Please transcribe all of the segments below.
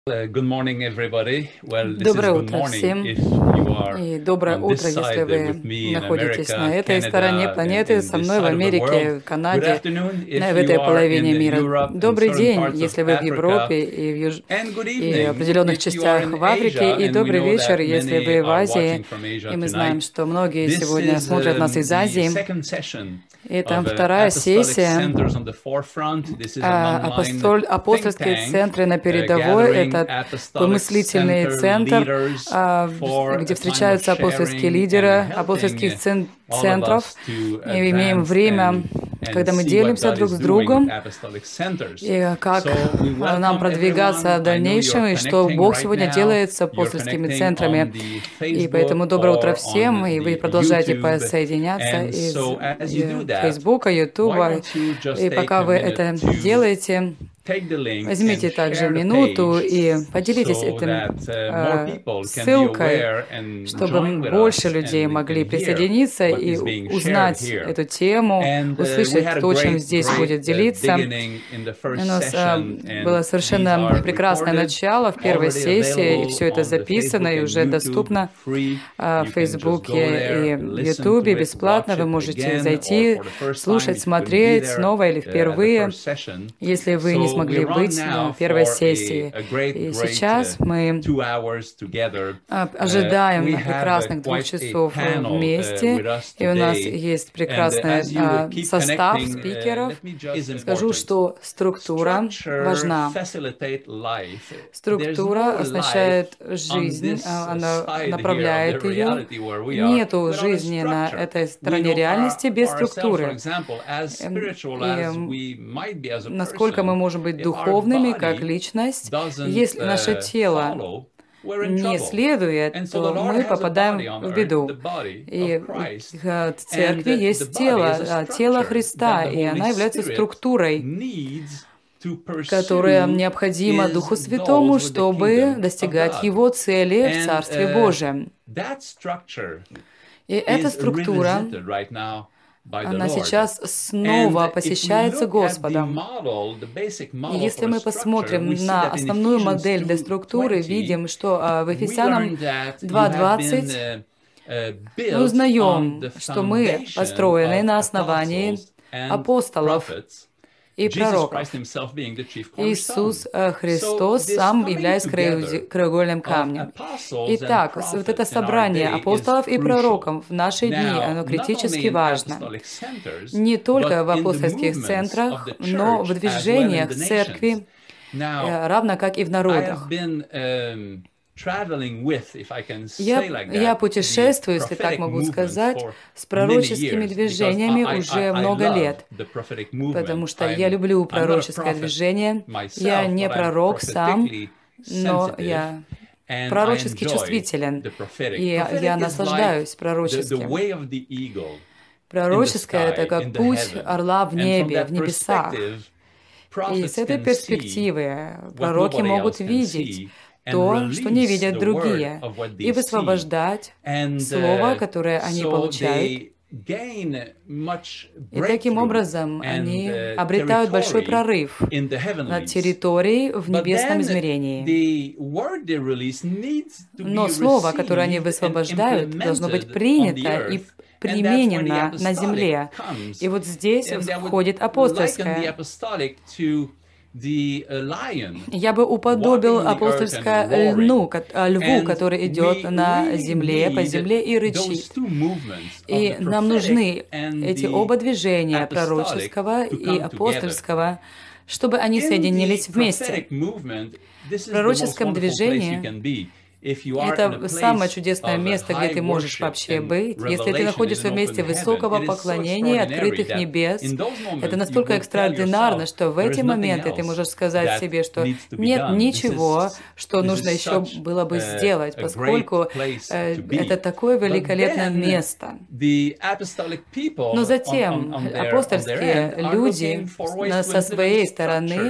Good morning, everybody. Well, this is Доброе good утро morning всем. if you are И доброе on this утро, если side вы with me in находитесь на America, этой стороне Canada, планеты, in со this мной в side of the world. Америке, в Good Канаде, afternoon в if you этой are in половине мира. Europe and Добрый certain день, parts of если вы в Africa. Европе и And good и в evening определенных if you are частях in в Африке, Asia, и and we добрый know вечер, that если many вы в are Азии. watching from Asia И мы знаем, tonight. что многие This сегодня is смотрят нас из the Азии. second session Это of вторая Apostolic сессия. Centers on the Forefront. This is an online think Апостольские tank центры на передовой — gathering это apostolic помыслительный center центр, leaders for где a time of встречаются апостольские sharing лидеры and апостольских helping all of центров. us to И имеем advance время, and когда мы see what делимся God друг is с doing with другом, apostolic centers. и как So we нам welcome продвигаться в everyone. I know дальнейшем, you're и что connecting Бог right сегодня now. делает с You're апостольскими connecting on центрами. the И поэтому Facebook доброе утро or всем, on и вы the продолжаете YouTube. подсоединяться And из so as you do that, Фейсбука, why Ютуба. don't you just И take пока a вы minute это to делаете, take the link возьмите and также share the минуту page и поделитесь so этим that more people can be ссылкой, aware and чтобы join with больше us людей and могли can hear присоединиться what и is being shared узнать here. эту тему, And we услышать had a то, чем great здесь будет делиться. beginning in the У first нас session, было and these совершенно are прекрасное recorded, начало в первой already сессии, и available все это on the записано Facebook и and уже YouTube доступно free. в You can just go Фейсбуке there, и в listen Ютубе to it, бесплатно. watch Вы it можете again, or зайти, for the first time слушать, if you couldn't be смотреть there снова или at the впервые, first session. если вы не So we смогли run быть now на первой for сессии. a great И сейчас мы 2 hours together. ожидаем We have прекрасных 2 quite a часов panel вместе, with us и у нас today. есть And прекрасный as you keep состав connecting, спикеров. let me just Скажу, important. что структура Structure важна. facilitate life. There's Структура no означает life on жизнь, this она side here of направляет the ее. reality where we are Нету without a жизни на structure. этой We стороне know реальности без ourselves, for структуры. example, as spiritual И as we might be as a насколько мы person, можем быть if our духовными как body личность, doesn't если наше тело follow, we're in не trouble. следует, And so то the Lord мы has a body попадаем on в earth, беду. the body И of Christ. в церкви And the есть body is тело, a тело structure Христа, that the и она Holy является Spirit структурой, needs to которая pursue необходима is Духу Святому, those with the чтобы kingdom of достигать God. Его цели в And Царстве Божьем. that structure И эта is структура, revisited right now by the она Lord. сейчас снова And if we посещается look at the Господом. model, the basic И model если for мы structure, посмотрим we see на that in основную Ephesians модель для структуры, 2:20, видим, что в we Ефесянам learn that you have 2:20 been мы built on узнаем, the что мы foundation построены на of основании apostles and апостолов prophets, и Jesus пророков. Christ himself being the chief Иисус cornerstone. Христос So this сам coming является together краеугольным of камнем. apostles and Итак, вот это prophets in our собрание day is апостолов и crucial. пророков в наши дни, Now, оно not only критически in важно. apostolic centers, Не только but в in the апостольских movements центрах, of the но в church as well in движениях the церкви, nations. Now, равно как и в I народах. have been traveling with, if I can say like Я that, путешествую, the если так prophetic могу movements сказать, for с many пророческими years, движениями because уже I много love лет, the prophetic movement. потому что я люблю I'm not a пророческое prophet движение. myself, Я не but I'm пророк сам, prophetically но sensitive, я and I пророчески enjoy чувствителен, the prophetic. и я Prophetic is наслаждаюсь like the пророческим. way of the eagle in the Пророческое — это sky, in как the путь heaven. орла в And from небе, that в небесах. perspective, И prophets с этой can see перспективы what пророки nobody могут else can видеть see and то, что не release видят the word другие, of what и they see. высвобождать And слово, которое они so получают. they gain much И таким breakthrough образом они and обретают большой territory прорыв in the над heavenlies. территорией в But небесном then измерении. the word they release needs to Но be слово, которое они received and высвобождают, должно быть implemented on the принято и earth. And that's where the применено на apostolic земле. comes. И вот здесь And I would входит liken the апостольское. apostolic to the lion Я бы уподобил walking the earth апостольское and roaring. льву, And который идет we на really земле, по need земле и those рычит. two movements of И the нам нужны prophetic and эти the оба движения, apostolic пророческого to и come together. апостольского, чтобы они In соединились the вместе. prophetic movement, this is В the most пророческом wonderful place движении you can be. If you are in a это самое place чудесное of место, где high ты можешь worship вообще and быть. Если ты revelation находишься in в an месте open высокого heaven, it is so поклонения, extraordinary открытых that небес, in those moments это you настолько will tell экстраординарно, yourself что в there is эти nothing моменты ты else можешь сказать that себе, что needs to be нет done. ничего, что This нужно is еще such было бы сделать, a great поскольку place to be. это такое But великолепное then место. the apostolic people Но затем on their апостольские end are люди looking for ways to со своей implement стороны structures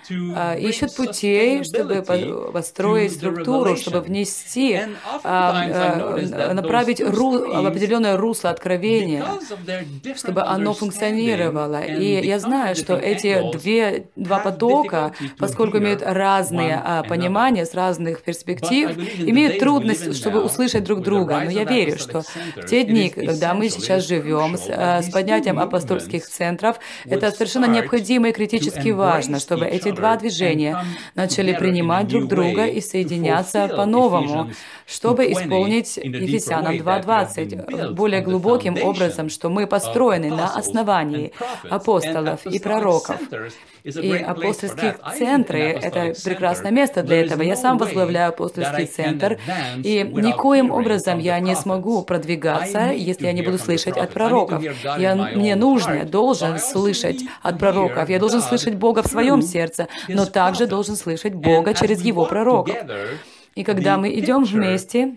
ищут путей, чтобы построить структуру, чтобы внести, направить в определенное русло откровения, чтобы оно функционировало. И я знаю, что эти два потока, поскольку имеют разные понимания с разных перспектив, имеют трудность, чтобы услышать друг друга. Но я верю, что в те дни, когда мы сейчас живем, с поднятием апостольских центров, это совершенно необходимо и критически важно, чтобы эти два движения начали принимать друг друга и соединяться по-новому, чтобы исполнить Ефесянам 2:20 более глубоким образом, что мы построены на основании апостолов и пророков. И апостольские центры — это прекрасное место для этого. Я сам возглавляю апостольский центр, и никоим образом я не смогу продвигаться, если я не буду слышать от пророков. Мне нужно, я должен слышать от пророков. Я должен слышать Бога в своем сердце, но также должен слышать Бога через Его пророков. И когда мы идем вместе,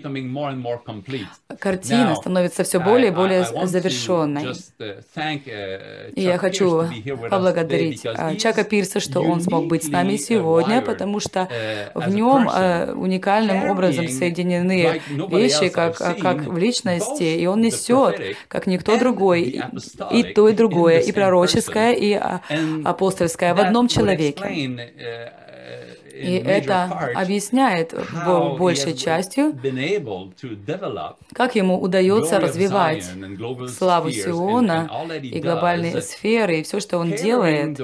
картина становится все более и более завершенной. И я хочу поблагодарить Чака Пирса, что он смог быть с нами сегодня, потому что в нем уникальным образом соединены вещи, как в личности, и он несет, как никто другой, и то, и другое, и пророческое, и апостольское в одном человеке. И это объясняет большей частью, как ему удается развивать славу Сиона и глобальные сферы, и все, что он делает,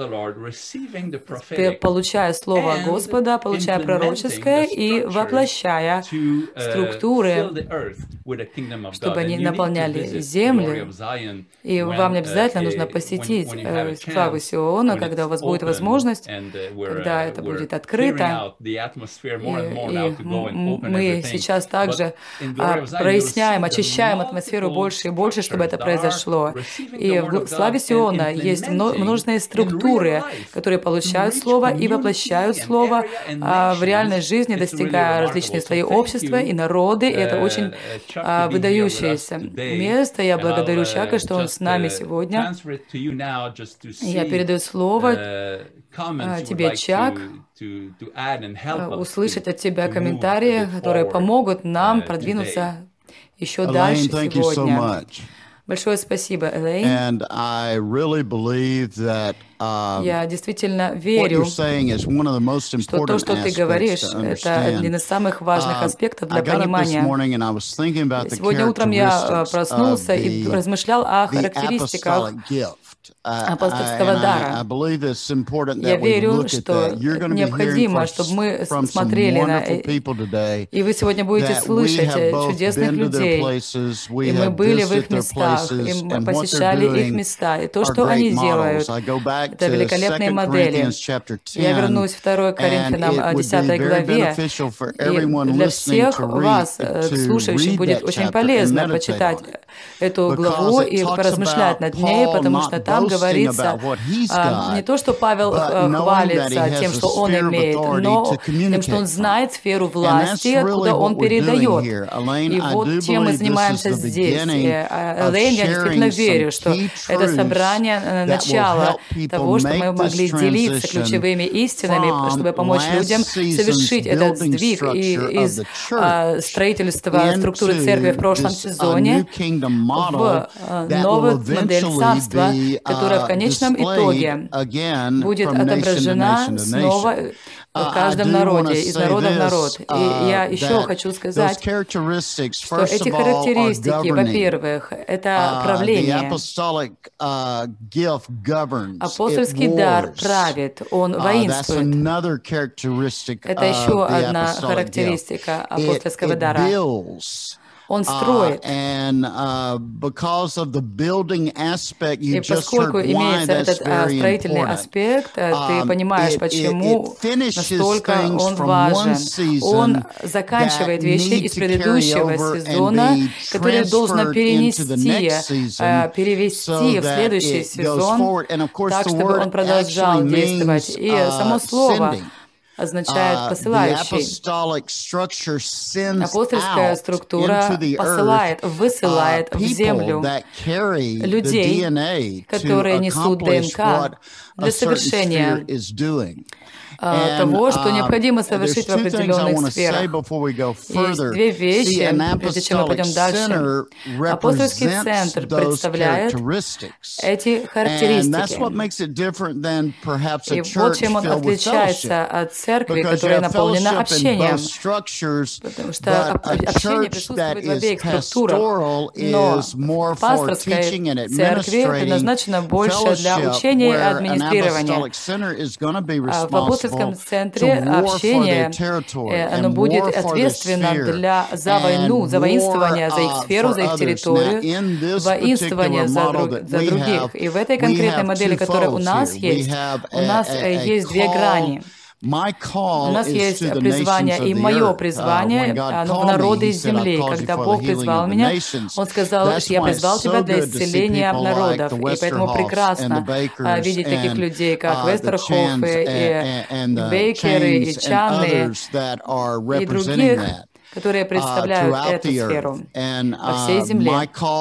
получая Слово Господа, получая пророческое и воплощая структуры, чтобы они наполняли землю. И вам не обязательно нужно посетить славу Сиона, когда у вас будет возможность, когда это будет открыто. И мы сейчас также проясняем, очищаем атмосферу больше и больше, чтобы это произошло. И в славе Сиона есть множественные структуры, которые получают Слово и воплощают Слово в реальной жизни, достигая различные слои общества и народы. И это очень выдающееся место. Я благодарю Чака, что он с нами сегодня. Я передаю слово тебе, Чак, услышать от тебя комментарии, которые помогут нам продвинуться еще дальше сегодня. Большое спасибо, Элейн. Я действительно верю, что то, что ты говоришь, это один из самых важных аспектов для понимания. Сегодня утром я проснулся и размышлял о характеристиках апостольского дара. Я верю, что необходимо, чтобы мы смотрели на... И вы сегодня будете слышать чудесных людей. И мы были в их местах, и мы посещали их места. И то, что они делают, это великолепные модели. Я вернусь в 2 Коринфянам 10 главе. И для всех вас, слушающих, будет очень полезно почитать эту главу и поразмышлять над ней, потому что там говорится не то, что Павел хвалится тем, что он имеет, но тем, что он знает сферу власти, откуда он передает. И вот чем мы занимаемся здесь. Элейн, я действительно верю, что это собрание начало того, что мы могли делиться ключевыми истинами, чтобы помочь людям совершить этот сдвиг из строительства структуры церкви в прошлом сезоне в новую модель царства, которая в конечном итоге будет отображена снова в каждом народе, из народа в народ. И я еще хочу сказать, что эти характеристики, во-первых, это правление. Апостольский дар правит, он воинствует. Это еще одна характеристика апостольского дара. Он строит. И поскольку имеется этот строительный аспект, ты понимаешь, почему настолько он важен. Он заканчивает вещи из предыдущего сезона, которые должно перевести в следующий сезон, так, чтобы он продолжал действовать. И само слово означает посылающий. Апостольская структура посылает, высылает в землю людей, которые несут ДНК для совершения того, что необходимо совершить в определенных сферах. Есть две вещи, прежде чем мы пойдем дальше. Апостольский центр представляет эти характеристики. И вот чем он отличается от церкви, которая наполнена общением. Потому что общение присутствует в обеих структурах. Но в пасторской церкви предназначено больше для учения и администрирования. В апостольском центре общение, оно будет ответственно за войну, за воинствование, за их сферу, за их территорию, воинствование за других. И в этой конкретной модели, которая у нас есть две грани. У нас есть призвание, и мое призвание, оно в народы из земли. Когда Бог призвал меня, Он сказал, что я призвал тебя для исцеления народов. И поэтому прекрасно видеть таких людей, как Вестерхофы, и Бейкеры, и Чанны, и других, которые представляют эту сферу по всей земле.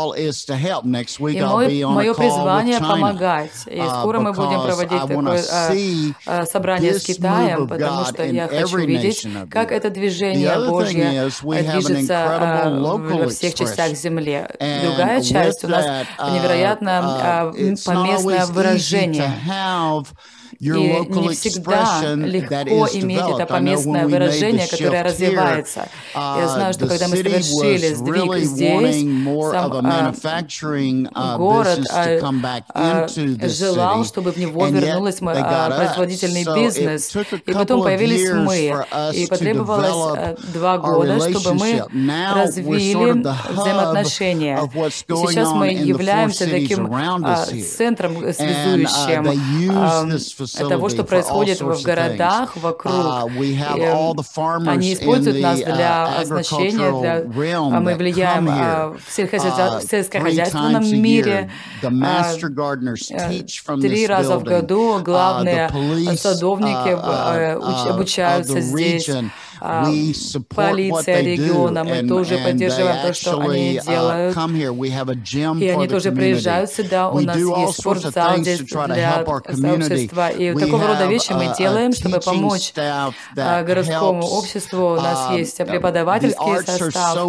И мое призвание помогать. И скоро мы будем проводить такое собрание с Китаем, потому что я хочу видеть, как это движение Божье движется во всех частях земли. Другая часть у нас невероятно поместное выражение. И не всегда легко иметь это поместное выражение, которое развивается. Я знаю, что когда мы совершили сдвиг здесь, сам город желал, чтобы в него вернулся производительный бизнес. И потом появились мы. И потребовалось 2 года, чтобы мы развили взаимоотношения. И сейчас мы являемся таким центром связующим того, что происходит в городах вокруг. Они используют нас для значения, мы влияем в сельскохозяйственном мире. 3 раза в году главные садовники обучаются здесь. Полиция региона, мы тоже поддерживаем то, что они делают. И они тоже приезжают сюда. У нас есть спортзал здесь для сообщества. И такого рода вещи мы делаем, чтобы помочь городскому обществу. У нас есть преподавательский состав,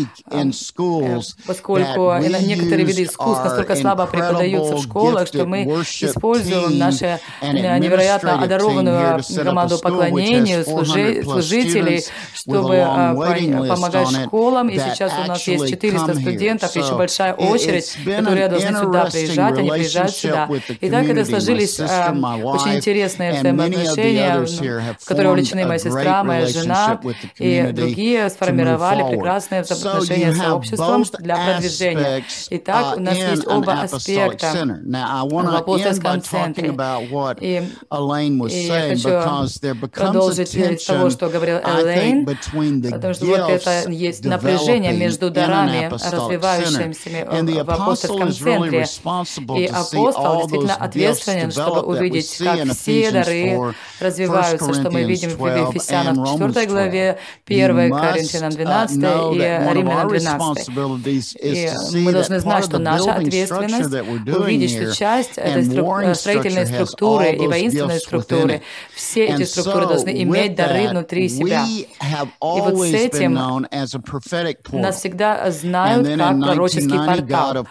поскольку некоторые виды искусств настолько слабо преподаются в школах, что мы используем нашу невероятно одарованную команду поклонению, служителей, чтобы помогать школам. И сейчас у нас есть 400 студентов, еще большая очередь, которые должны сюда приезжать, они приезжают сюда. И так это сложились очень интересные взаимоотношения, в которые увлечены моя сестра, моя жена и другие, сформировали прекрасные взаимоотношения с сообществом для продвижения. Итак, у нас есть оба аспекта в апостольском центре. И я хочу продолжить с того, что говорил Элейн, потому что вот это есть напряжение между дарами, развивающимися в апостольском центре. И апостол действительно ответственен, чтобы увидеть, как все дары развиваются, что мы видим в Ефесянам 4 главе, 1 Коринфянам 12 и Римлянам 12. И мы должны знать, что наша ответственность увидеть, что часть этой строительной структуры и воинственной структуры, все эти структуры должны иметь дары внутри себя. И вот с этим нас всегда знают как пророческий портал.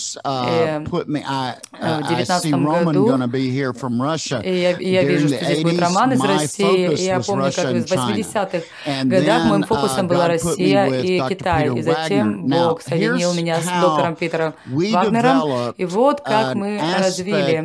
В 19 году я вижу, что здесь будет Роман из России, и я помню, как в 80-х годах моим фокусом была Россия и Китай. И затем Бог соединил меня с доктором Питером Вагнером, и вот как мы развили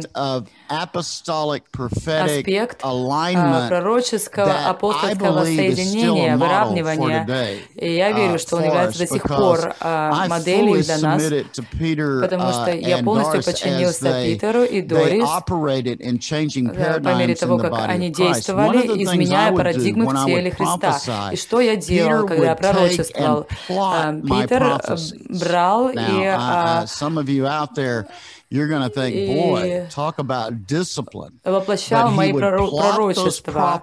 аспект пророческого апостольского соединения, выравнивания. И я верю, что он является до сих пор моделью для нас, потому что я полностью подчинился Питеру и Дорис по мере того, как они действовали, изменяя парадигмы в теле Христа. И что я делал, когда я пророчествовал? Питер брал и и воплощал мои пророчества.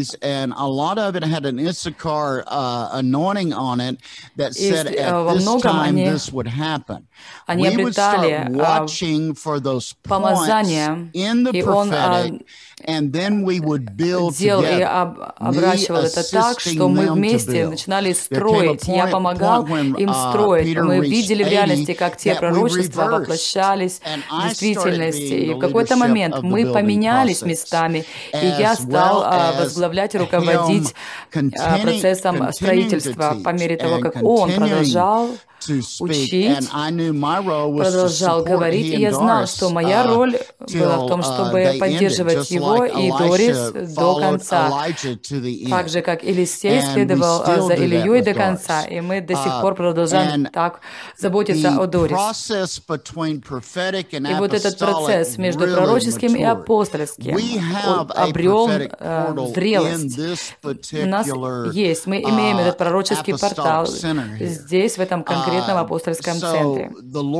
И во многом они обретали помазание, и он делал и обращивал это так, что мы вместе начинали строить. Я помогал им строить. Мы видели в реальности, как те пророчества воплощались в действительности. И в какой-то момент мы поменялись местами, и я стал возглавлять и руководить процессом строительства по мере того, как он продолжал учить, продолжал говорить, и я знал, что моя роль была в том, чтобы поддерживать его и Дорис до конца, так же, как Елисей следовал за Ильей до конца, и мы до сих пор продолжаем так заботиться о Дорис. И вот этот процесс между пророческим и апостольским, он обрел зрелость. У нас есть, мы имеем этот пророческий портал здесь, в этом конкретном апостольском центре.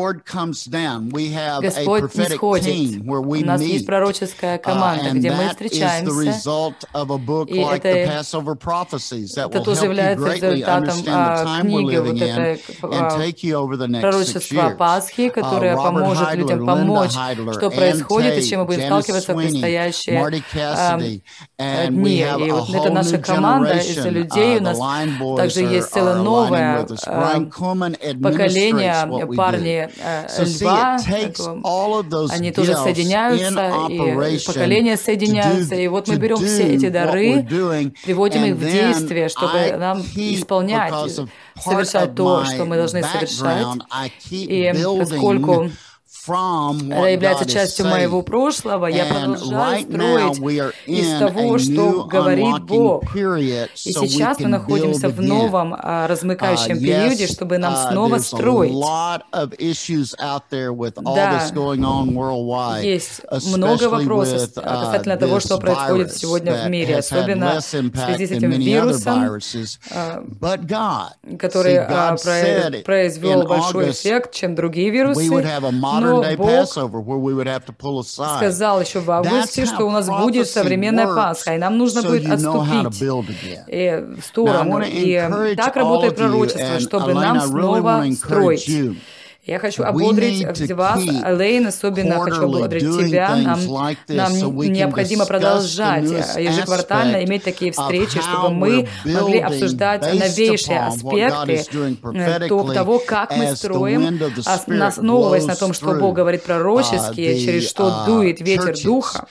Господь не сходит. У нас есть пророческая команда, где мы встречаемся, и это тоже является результатом книги, вот это пророчество Пасхи, которое поможет людям помочь, что происходит и с чем мы будем сталкиваться в предстоящие дни. И вот это наша команда из людей. У нас также есть целое новое поколение, парни Льва, они тоже соединяются, и поколения соединяются, и вот мы берем все эти дары, приводим их в действие, чтобы нам исполнять, совершать то, что мы должны совершать, и поскольку это является частью моего прошлого, я продолжаю строить из того, что говорит Бог. И сейчас мы находимся в новом размыкающем периоде, чтобы нам снова строить. Да, есть много вопросов касательно того, что происходит сегодня в мире, особенно в связи с этим вирусом, который произвел большой эффект, чем другие вирусы. Но Бог сказал еще в августе, что у нас будет современная Пасха, и нам нужно будет отступить в сторону. И так работает пророчество, чтобы нам снова строить. Я хочу ободрить вас, Элейн, особенно хочу ободрить тебя. Нам необходимо продолжать ежеквартально иметь такие встречи, чтобы мы могли обсуждать новейшие аспекты того, как мы строим, основываясь на том, что Бог говорит пророчески, через что дует ветер Духа,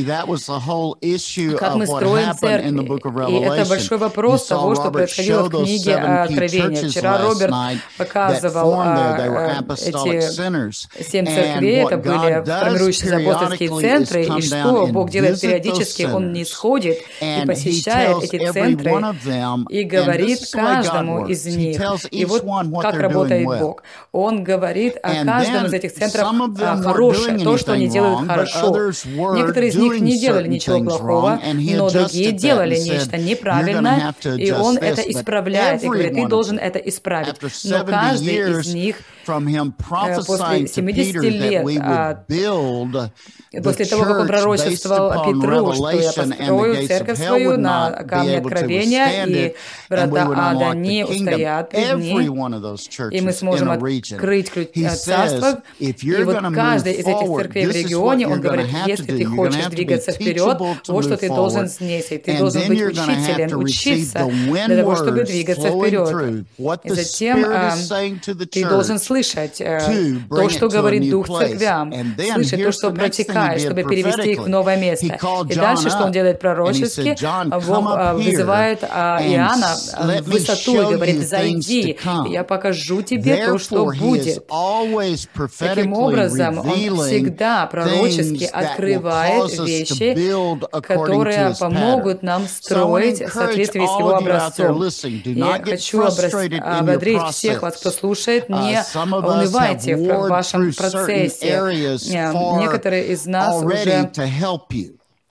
как мы строим церкви. И это большой вопрос того, что происходило в книге Откровения. Вчера Роберт показывал эти 7 церквей, это были формирующиеся апостольские центры, и что Бог делает периодически, Он не сходит и посещает эти центры и говорит каждому из них. И вот как работает Бог. Он говорит о каждом из этих центров хорошее, то, что они делают хорошо. Некоторые из них не делали ничего плохого, но другие делали нечто неправильное, и Он это исправляет, и говорит, ты должен это исправить. Но каждый из них после 70 лет, после того, как он пророчествовал Петру, что я построю церковь свою на камне откровения, и врата ада не устоят пред ней, и мы сможем открыть царство. И вот каждый из этих церквей в регионе, он говорит, если ты хочешь двигаться вперед, вот что ты должен снести. Ты должен быть учителем, учиться для того, чтобы двигаться вперед. И затем ты должен слышать то, что говорит Дух церквям, слышать то, что протекает, чтобы перевести их в новое место. И дальше, что он делает пророчески, Бог вызывает Иоанна в высоту и говорит, зайди, я покажу тебе то, что будет. Таким образом, он всегда пророчески открывает вещи, которые помогут нам строить в соответствии с его образцом. Я хочу ободрить всех вас, кто слушает, не унывайте в вашем процессе. Некоторые из нас уже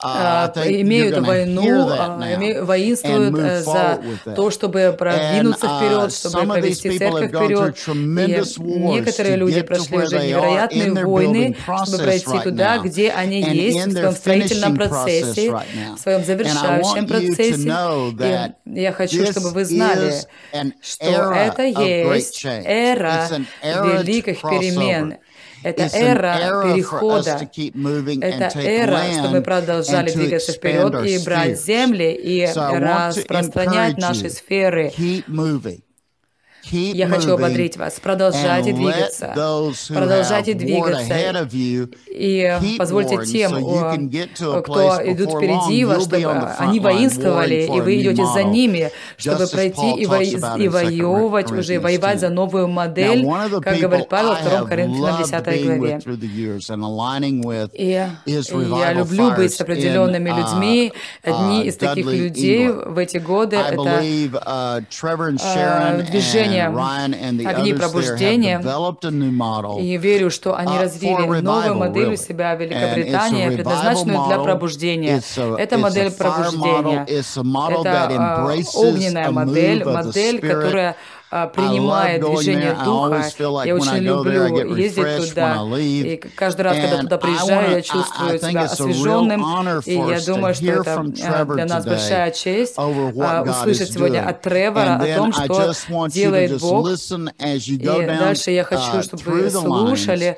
имеют войну, воинствуют за то, чтобы продвинуться вперед, чтобы повести церковь вперед. И некоторые люди прошли уже невероятные войны, чтобы пройти туда, где они есть, в своем строительном процессе, в своем завершающем процессе. И я хочу, чтобы вы знали, что это есть эра великих перемен. Это эра перехода, это эра, чтобы мы продолжали двигаться вперед и брать земли и распространять наши сферы. Я хочу ободрить вас. Продолжайте двигаться. Продолжайте двигаться. И позвольте тем, кто идут впереди вас, чтобы они воинствовали, и вы идете за ними, чтобы пройти и воевать, уже воевать за новую модель, как говорит Павел в 2 Коринфянам 10 главе. И я люблю быть с определенными людьми. Одни из таких людей в эти годы — это движение «Огни пробуждения», и верю, что они развили новую модель у себя в Великобритании, предназначенную для пробуждения. Это модель пробуждения. Это огненная модель, которая принимает движение Духа. Я очень люблю ездить туда, и каждый раз, когда туда приезжаю, я чувствую себя освеженным, и я думаю, что это для нас большая честь услышать сегодня от Тревора о том, что делает Бог. И дальше я хочу, чтобы вы слушали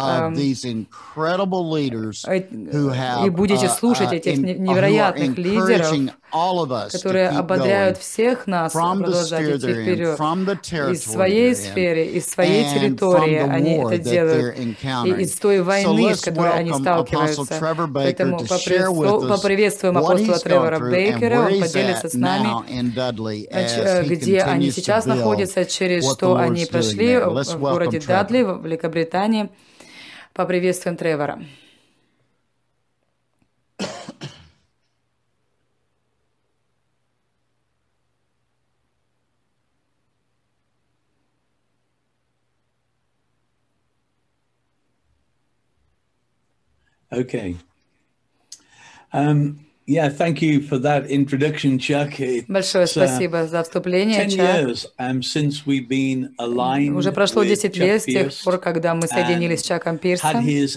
и будете слушать этих невероятных лидеров, которые ободряют всех нас продолжать идти вперед. Из своей сферы, из своей территории они это делают, и из той войны, с которой они сталкиваются. Поэтому поприветствуем апостола Тревора Бейкера, он поделится с нами, где они сейчас находятся, через что они прошли в городе Дадли, в Великобритании. Поприветствуем Тревора. Okay. Yeah, thank you for that introduction, Chuck. Большое спасибо за вступление, Чак. Уже прошло 10 лет с тех пор, когда мы соединились с Чаком Пирсом и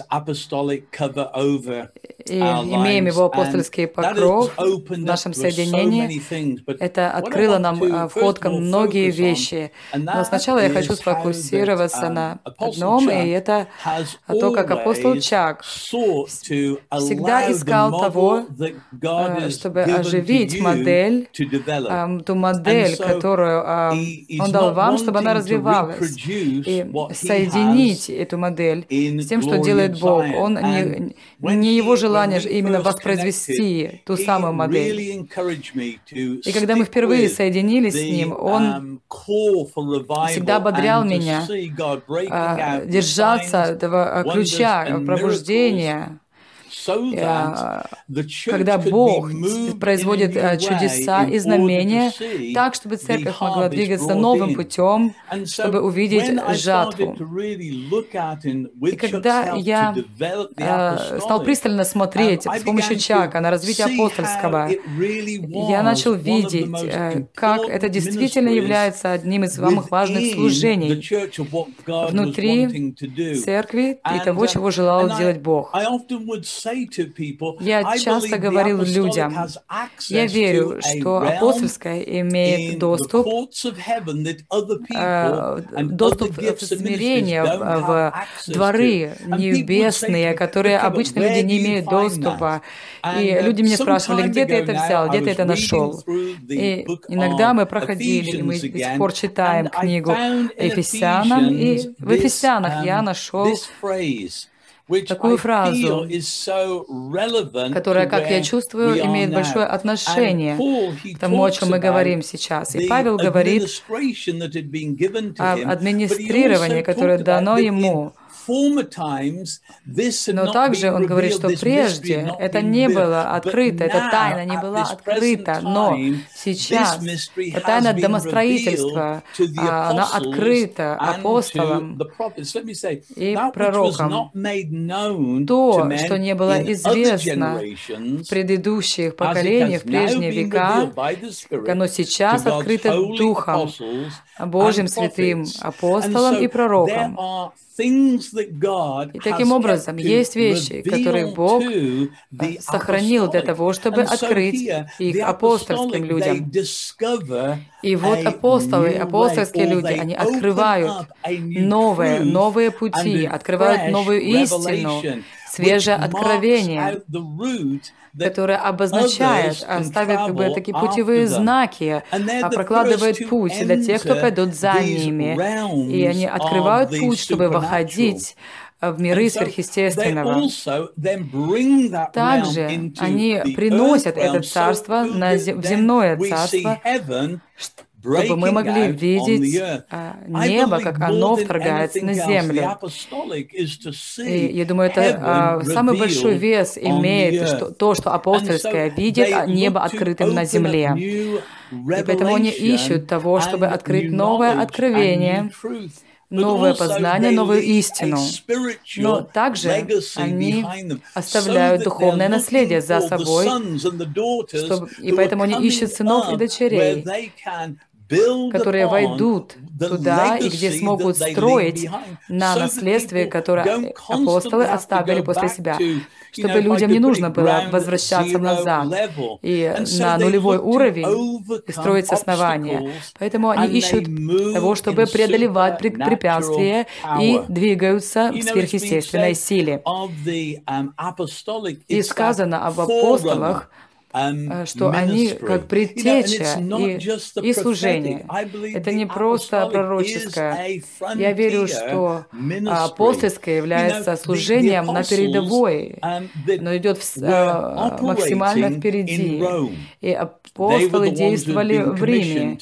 имеем его апостольский покров в нашем соединении. Это открыло нам вход к многие вещи. Но сначала я хочу сфокусироваться на одном, и это то, как апостол Чак всегда искал того, чтобы оживить модель, ту модель, которую Он дал вам, чтобы она развивалась, и соединить эту модель с тем, что делает Бог. Он не его желание именно воспроизвести ту самую модель. И когда мы впервые соединились с Ним, Он всегда ободрял меня держаться этого ключа пробуждения, когда Бог производит чудеса и знамения так, чтобы церковь могла двигаться новым путем, чтобы увидеть жатву. И когда я стал пристально смотреть с помощью Чака на развитие апостольского, я начал видеть, как это действительно является одним из самых важных служений внутри церкви и того, чего желал делать Бог. Я часто говорил людям, я верю, что апостольское имеет доступ в смирение, в дворы небесные, которые обычно люди не имеют доступа. И люди меня спрашивали, где ты это взял, где ты это нашел. И иногда мы проходили, и мы до сих пор читаем книгу Ефесянам, и в Ефесянах я нашел такую фразу, которая, как я чувствую, имеет большое отношение к тому, о чем мы говорим сейчас. И Павел говорит об администрировании, которое дано ему Но также он говорит, что прежде это не было открыто, эта тайна не была открыта, но сейчас эта тайна домостроительства, она открыта апостолам и пророкам. То, что не было известно в предыдущих поколениях, в прежние века, оно сейчас открыто Духом Божьим, святым апостолам и пророкам. И таким образом, есть вещи, которые Бог сохранил для того, чтобы открыть их апостольским людям. И вот апостолы, апостольские люди, они открывают новые пути, открывают новую истину, свежее откровение, которое обозначает, ставит как бы такие путевые знаки, прокладывает путь для тех, кто пойдут за ними. И они открывают путь, чтобы выходить в миры сверхъестественного. Также они приносят это царство в земное царство, чтобы мы могли видеть небо, как оно вторгается на землю. И я думаю, это самый большой вес имеет то, что апостольское видит небо открытым на земле. И поэтому они ищут того, чтобы открыть новое откровение, новое познание, новую истину. Но также они оставляют духовное наследие за собой, и поэтому они ищут сынов и дочерей, которые войдут туда и где смогут строить на наследстве, которое апостолы оставили после себя, чтобы людям не нужно было возвращаться назад и на нулевой уровень и строить с основания. Поэтому они ищут того, чтобы преодолевать препятствия и двигаются в сверхъестественной силе. И сказано об апостолах, что они как предтеча и служение. Это не просто пророческое. Я верю, что апостольское является служением на передовой, но идет максимально впереди. И апостолы действовали в Риме.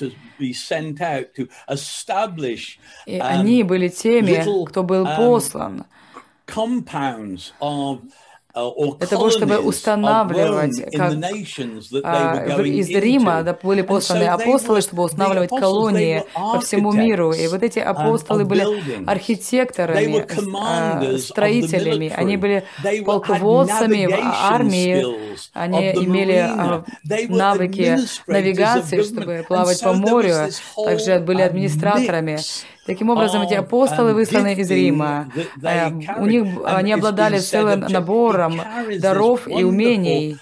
И они были теми, кто был послан для того, чтобы устанавливать, как из Рима были посланы апостолы, чтобы устанавливать колонии по всему миру. И вот эти апостолы были архитекторами, строителями, они были полководцами в армии, они имели навыки навигации, чтобы плавать по морю, также были администраторами. Таким образом, эти апостолы, высланные из Рима, они обладали целым набором даров и умений,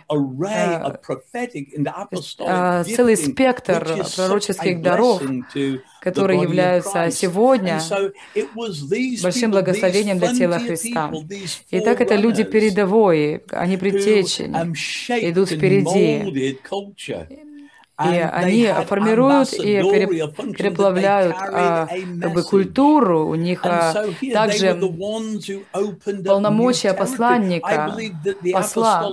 целый спектр пророческих даров, которые являются сегодня большим благословением для тела Христа. Итак, это люди передовые, они предтечи, идут впереди. И они формируют и переплавляют как бы культуру, у них также полномочия посланника, посла.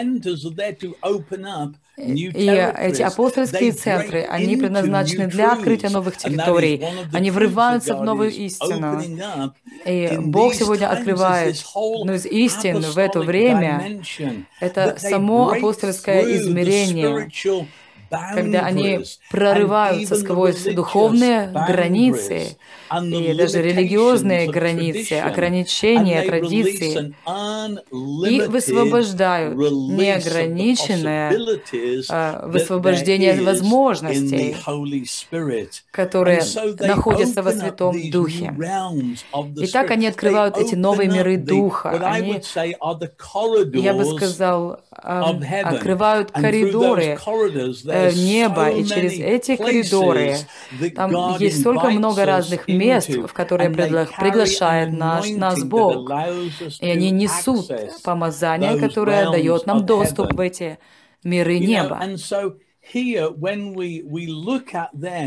И эти апостольские центры, они предназначены для открытия новых территорий. Они врываются в новую истину. И Бог сегодня открывает одну из истин в это время. Это само апостольское измерение, когда они прорываются сквозь духовные границы и даже религиозные границы, ограничения, традиции, и высвобождают неограниченное высвобождение возможностей, которые находятся во Святом Духе. И так они открывают эти новые миры Духа. Они, я бы сказал, открывают коридоры неба, и через эти коридоры там есть столько много разных мест, в которые приглашает нас Бог. И они несут помазание, которое дает нам доступ в эти миры неба.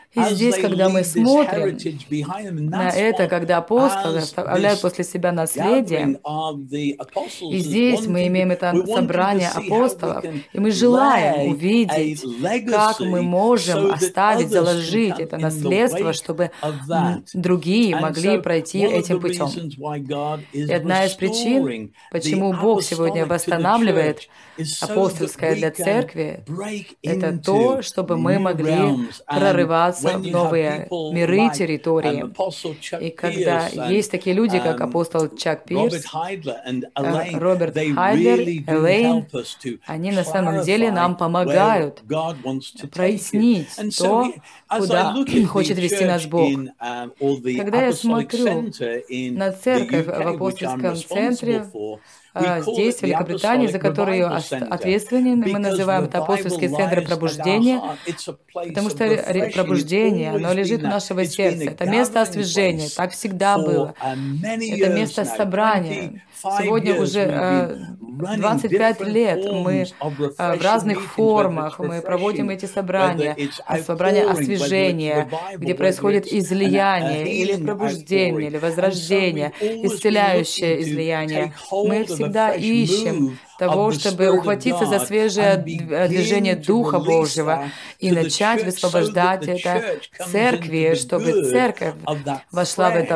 И здесь, когда мы смотрим на это, когда апостолы оставляют после себя наследие, и здесь мы имеем это собрание апостолов, и мы желаем увидеть, как мы можем оставить, заложить это наследство, чтобы другие могли пройти этим путем. И одна из причин, почему Бог сегодня восстанавливает апостольское для церкви, это то, чтобы мы могли прорываться в новые миры, территории. И когда есть такие люди, как апостол Чак Пирс, Роберт Хайдлер, Элейн, они на самом деле нам помогают прояснить то, куда хочет вести нас Бог. Когда я смотрю на церковь в апостольском центре, здесь, в Великобритании, за которую ответственны, мы называем это апостольский центр пробуждения, потому что пробуждение, оно лежит у нашего сердца. Это место освяжения, так всегда было. Это место собрания. Сегодня уже 25 лет мы в разных формах, мы проводим эти собрания освяжения, где происходит излияние, или пробуждение, или возрождение, исцеляющее излияние. Мы всегда ищем того, чтобы ухватиться за свежее движение Духа Божьего и начать высвобождать это церкви, чтобы церковь вошла в это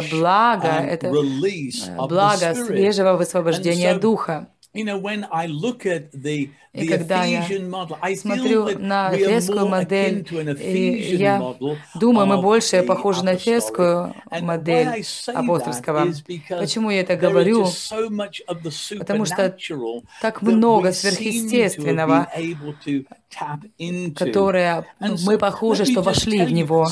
благо свежего высвобождения Духа. И когда я смотрю на эфесскую модель, и я думаю, мы больше похожи на эфесскую модель апостольского. Почему я это говорю? Потому что так много сверхъестественного, которое мы похожи, что вошли в него.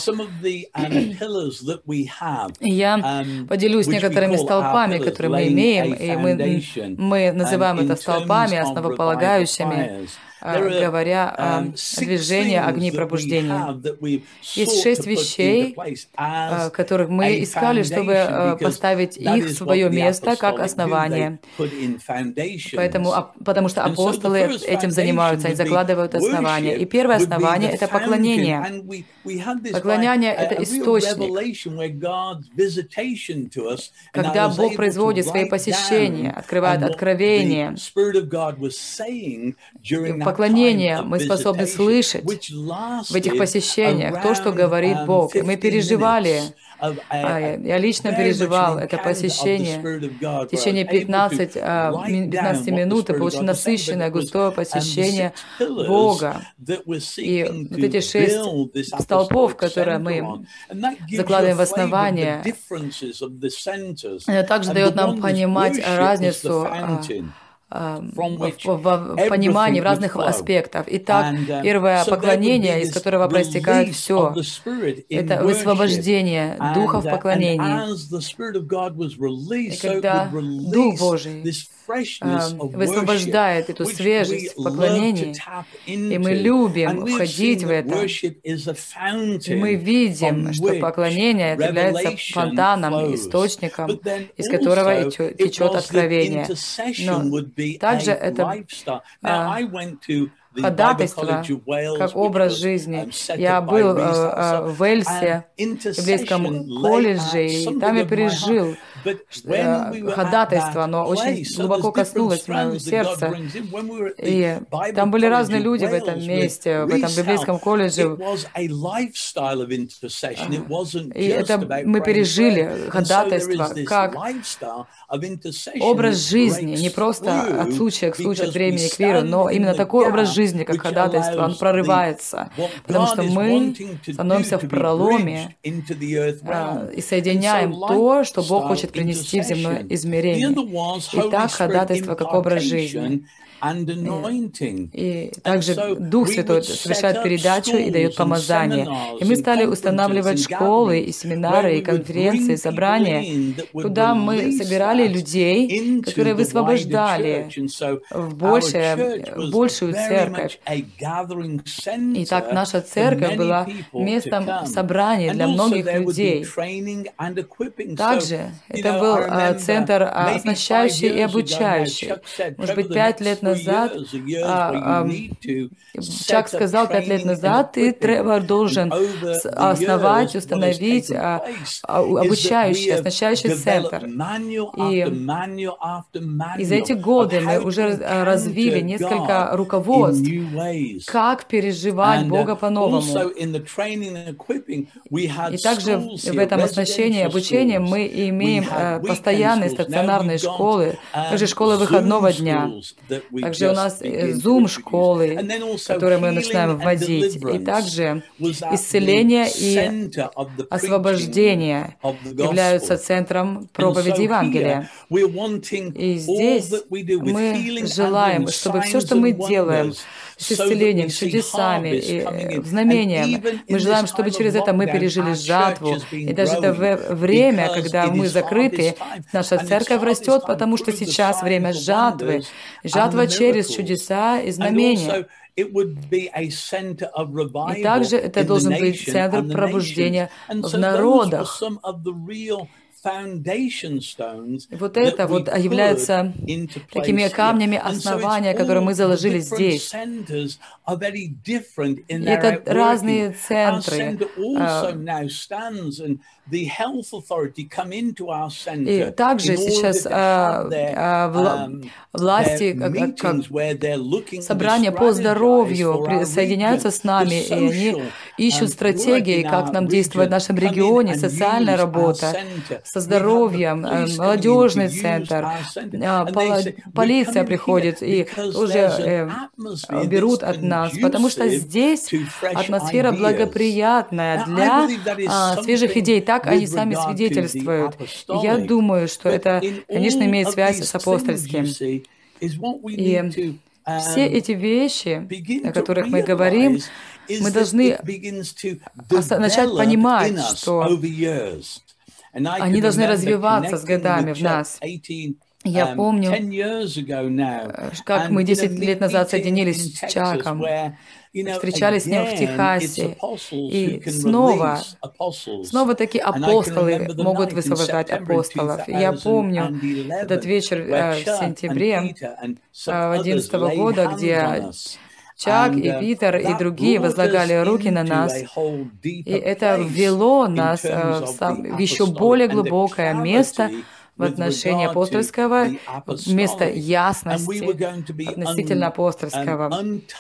И я поделюсь некоторыми столпами, которые мы имеем, и мы называем это столпами, основополагающими, говоря о движении огней пробуждения. Есть 6 вещей, которых мы искали, чтобы поставить их в свое место как основание. Потому что апостолы этим занимаются, они закладывают основания. И первое основание — это поклонение. Поклонение — это источник. Когда Бог производит свои посещения, открывает откровения, поклонение мы способны слышать в этих посещениях то, что говорит Бог. И мы переживали, я лично переживал это посещение в течение 15 минут, и получил насыщенное, густое посещение Бога. И вот эти 6 столпов, которые мы закладываем в основание, это также дает нам понимать разницу в понимании в разных аспектах. Итак, первое поклонение, из которого проистекает все, это высвобождение Духа в поклонении. И когда Дух Божий высвобождает эту свежесть в поклонении, и мы любим входить в это, и мы видим, что поклонение является фонтаном, источником, из которого течет откровение. Но также это ходатайство как образ жизни. Я был в Уэльсе, в библейском колледже, и там я пережил ходатайство, оно очень глубоко коснулось моего сердца. И там были разные люди в этом месте, в этом библейском колледже. И это мы пережили ходатайство как образ жизни, не просто от случая к случаю, от времени к вере, но именно такой образ жизни, как ходатайство, он прорывается, потому что мы становимся в проломе и соединяем то, что Бог хочет принести в земное измерение. Итак, ходатайство как образ жизни. И также Дух Святой совершает передачу и дает помазание. И мы стали устанавливать школы, и семинары, и конференции, и собрания, куда мы собирали людей, которые высвобождали в большую церковь. И так наша церковь была местом собрания для многих людей. Также Это был центр оснащающий и обучающий. Может быть, 5 лет назад Чак сказал 5 лет назад, ты, Тревор, должен основать, установить обучающий, оснащающий центр. И за эти годы мы уже развили несколько руководств, как переживать Бога по-новому. И также в этом оснащении и обучении мы имеем постоянные стационарные школы, также школы выходного дня. Также у нас Zoom-школы, которые мы начинаем вводить. И также исцеление и освобождение являются центром проповеди Евангелия. И здесь мы желаем, чтобы все, что мы делаем с исцелением, чудесами и знамением, мы желаем, чтобы через это мы пережили жатву. И даже это время, когда мы закрыты, наша церковь растет, потому что сейчас время жатвы. Жатва через чудеса и знамения. И также это должен быть центр пробуждения в народах. И вот это вот является такими камнями основания, которые мы заложили здесь. И это разные центры. И также сейчас власти, как собрания по здоровью соединяются с нами, и они ищут стратегии, как нам действовать в нашем регионе, социальная работа, со здоровьем, молодежный центр, полиция приходит и уже берут от нас, потому что здесь атмосфера благоприятная для свежих идей. Так они сами свидетельствуют. И я думаю, что это, конечно, имеет связь с апостольским. И все эти вещи, о которых мы говорим, мы должны начать понимать, что они должны развиваться с годами в нас. Я помню, как мы 10 лет назад соединились с Чаком, встречались с ним в Техасе, и снова такие апостолы могут высвобождать апостолов. И я помню этот вечер в сентябре 2011 года, где Чак и Питер и другие возлагали руки на нас, и это ввело нас в еще более глубокое место в отношении апостольского, место ясности относительно апостольского.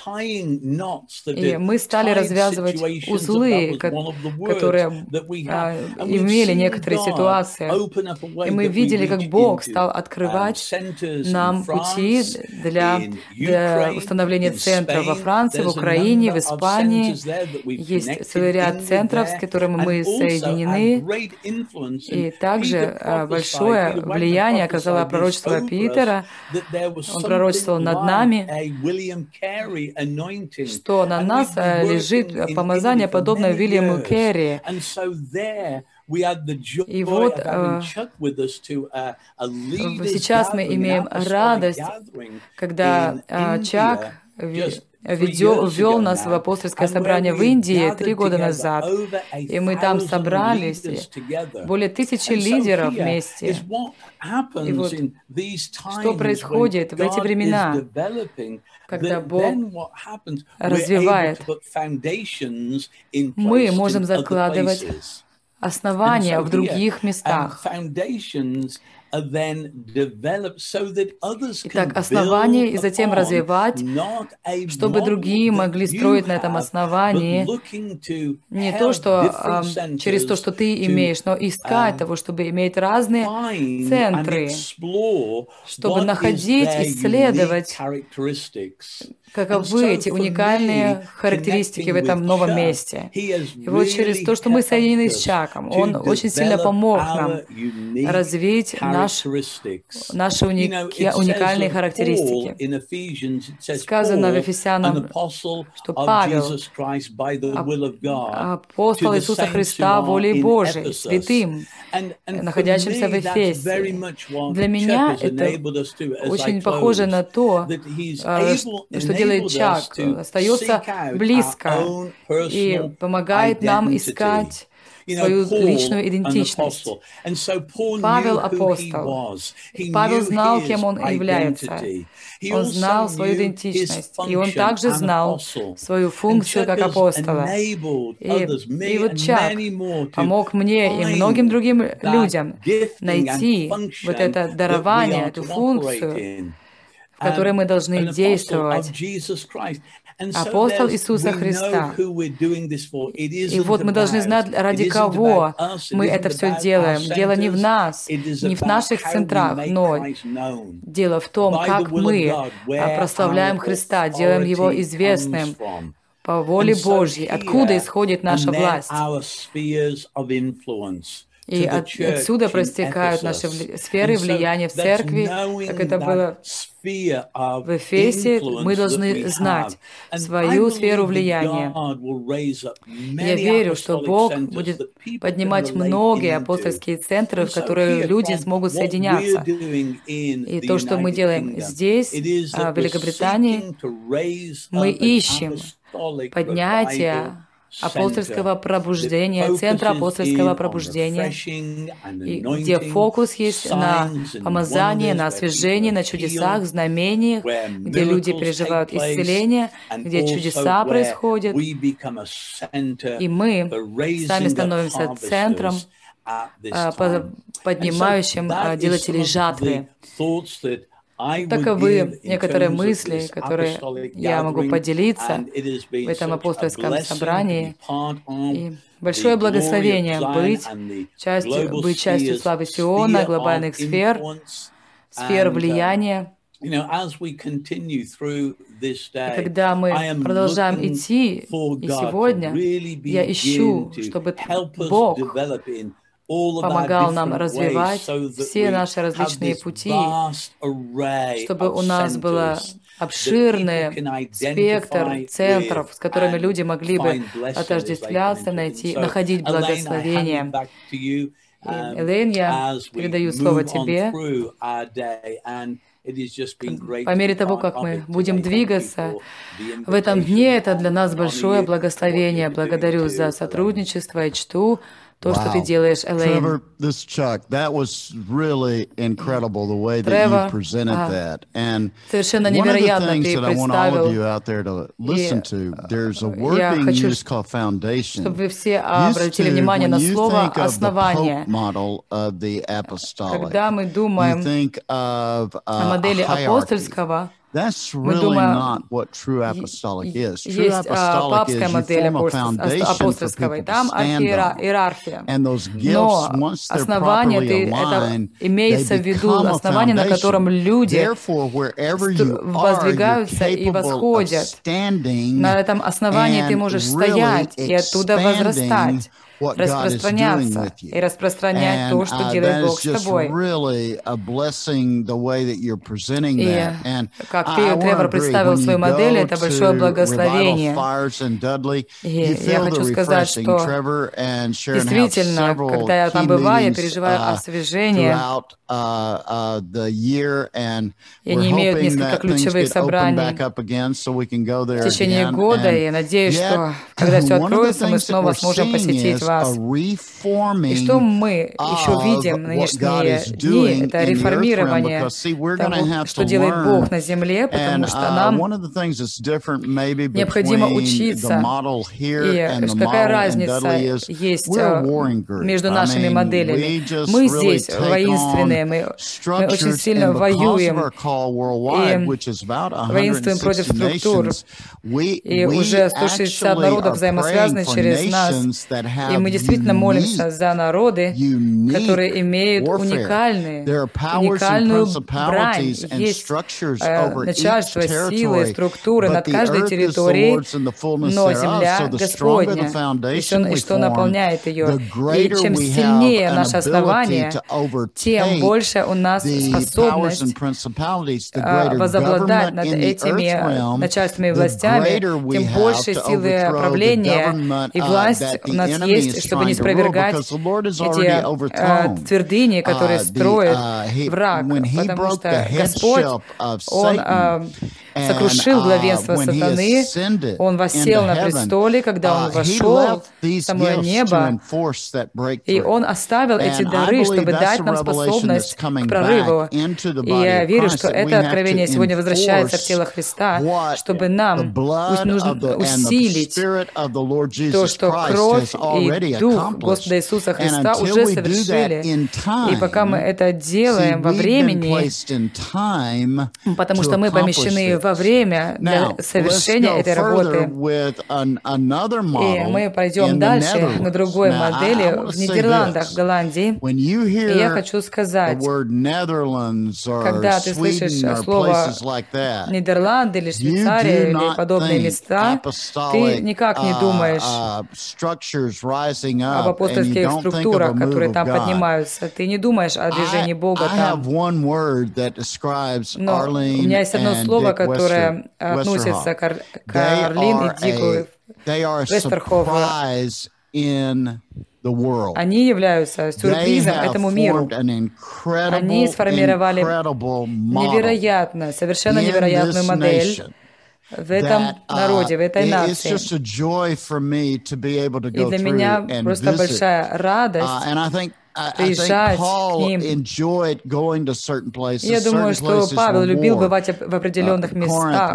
И мы стали развязывать узлы, которые имели некоторые ситуации. И мы видели, как Бог стал открывать нам пути для установления центров во Франции, в Украине, в Испании. Есть целый ряд центров, с которыми мы соединены. И также большое влияние оказало пророчество Питера. Он пророчествовал над нами, что на нас лежит помазание, подобное Уильяму Керри. И вот сейчас мы имеем радость, когда Чак ввел нас в апостольское собрание в Индии 3 года назад, и мы там собрались, более 1000 лидеров вместе. И вот что происходит в эти времена, когда Бог развивает, мы можем закладывать основания в других местах. Итак, основание и затем развивать, чтобы другие могли строить на этом основании не то, что через то, что ты имеешь, но искать того, чтобы иметь разные центры, чтобы находить, исследовать, каковы эти уникальные характеристики в этом новом месте. И вот через то, что мы соединены с Чаком, он очень сильно помог нам развить наши уникальные характеристики. Сказано в Ефесянам, что Павел, апостол Иисуса Христа волей Божией, святым, находящимся в Эфесе. Для меня это очень похоже на то, что делает Чак, остается близко и помогает нам искать свою личную идентичность. Павел апостол. Павел знал, кем он является. Он знал свою идентичность, и он также знал свою функцию как апостола. И вот Чак помог мне и многим другим людям найти вот это дарование, эту функцию, в которой мы должны действовать. Апостол Иисуса Христа. И вот мы должны знать, ради кого мы это все делаем. Дело не в нас, не в наших центрах, но дело в том, как мы прославляем Христа, делаем Его известным по воле Божьей, откуда исходит наша власть. И отсюда проистекают наши сферы влияния в церкви, как это было в Эфесе. Мы должны знать свою сферу влияния. Я верю, что Бог будет поднимать многие апостольские центры, в которые люди смогут соединяться. И то, что мы делаем здесь, в Великобритании, мы ищем поднятие апостольского пробуждения, центра апостольского пробуждения, и где фокус есть на помазании, на освяжении, на чудесах, знамениях, где люди переживают исцеление, где чудеса происходят, и мы сами становимся центром, поднимающим делателей жатвы. Таковы некоторые мысли, которые я могу поделиться в этом апостольском собрании. И большое благословение быть частью славы Сиона, глобальных сфер, сфер влияния. И когда мы продолжаем идти, и сегодня я ищу, чтобы Бог помогал нам развивать все наши различные пути, чтобы у нас был обширный спектр центров, с которыми люди могли бы отождествляться, находить благословение. Элейн, я передаю слово тебе. По мере того, как мы будем двигаться в этом дне, это для нас большое благословение. Благодарю за сотрудничество и чту то, что ты делаешь, Элейн. Тревор, совершенно невероятно ты представил. И я хочу, чтобы вы все обратили внимание на слово «основание». Когда мы думаем о модели апостольского, мы думаем, есть папская модель апостольского, и там иерархия. Но основание, это имеется в виду основание, на котором люди воздвигаются и восходят. На этом основании ты можешь стоять и оттуда возрастать, распространяться и распространять то, что делает Бог с тобой. И как ты, Тревор, представил свою модель, это большое благословение. И я хочу сказать, что действительно, когда я там бываю, я переживаю освежение. И они имеют несколько ключевых собраний в течение года, и я надеюсь, что когда все откроется, мы снова сможем посетить вас. И что мы еще видим в нынешние дни, это реформирование того, что делает Бог на земле, потому что нам необходимо учиться. И какая разница есть между нашими моделями? Мы здесь воинственные, мы очень сильно воюем и воинствуем против структур. И уже 160 народов взаимосвязаны через нас. И мы действительно молимся за народы, которые имеют уникальную брань. Есть начальство, силы, структуры над каждой территорией, но земля Господня, и что наполняет ее. И чем сильнее наше основание, тем больше у нас способность возобладать над этими начальствами и властями, тем больше силы правления и власть у нас есть, чтобы не спровергать эти твердыни, которые строит враг, потому что Господь, Он сокрушил главенство сатаны, Он воссел на престоле, когда Он вошел в самое небо, и Он оставил эти дары, чтобы дать нам способность к прорыву. И я верю, что это откровение сегодня возвращается в тело Христа, чтобы нам нужно усилить то, что кровь и Дух Господа Иисуса Христа уже совершили. И пока мы это делаем во времени, потому что мы помещены во время для совершения этой работы. И мы пойдем дальше на другой модели в Нидерландах, в Голландии. И я хочу сказать, когда ты слышишь слово Нидерланды или Швейцария или подобные места, ты никак не думаешь об апостольских структурах, которые там поднимаются. Ты не думаешь о движении Бога там. Но у меня есть одно слово, которое относится к Арлин и Дику Вестерхофу. Они являются сюрпризом этому миру. Они сформировали совершенно невероятную модель в этом народе, в этой нации. И для меня просто большая радость приезжать к ним. Я думаю, что Павел любил бывать в определенных местах.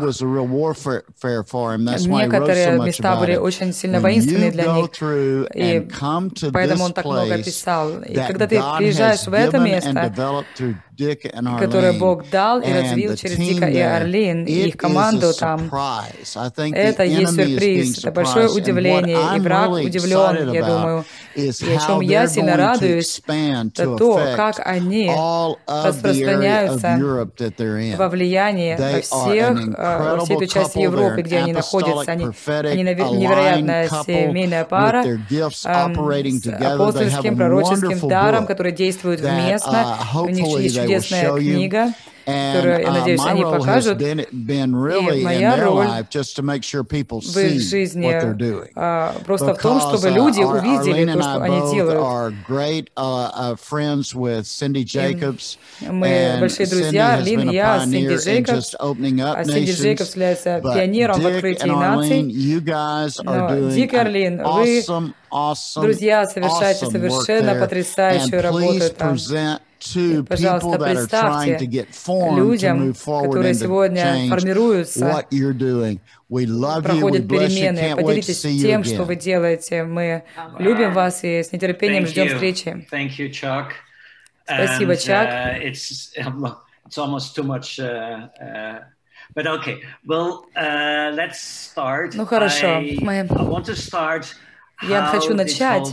Некоторые места были очень сильно воинственные для них, и поэтому он так много писал. И когда ты приезжаешь в это место, которое Бог дал и развил через Дика и Арлин, и их команду там, это есть сюрприз, это большое удивление, и враг удивлен, я думаю. И о чем я сильно радуюсь, это то, как они распространяться во влиянии во всей той части Европы, где они находятся. Они невероятная семейная пара с апостольским, пророческим даром, который действует вместно. У них есть чудесная книга, которую, я надеюсь, они покажут. И моя роль в их жизни просто в том, чтобы люди увидели то, что они делают. И мы большие друзья, Арлин и я, Синди Джейкобс. А Синди Джейкобс является пионером в открытии наций. Но Дик и Арлин, вы, друзья, совершаете совершенно потрясающую работу там. И, пожалуйста, представьте людям, которые сегодня формируются, проходят перемены. Поделитесь тем, что вы делаете. Мы любим вас и с нетерпением ждем встречи. Спасибо, Чак. Ну хорошо, я хочу начать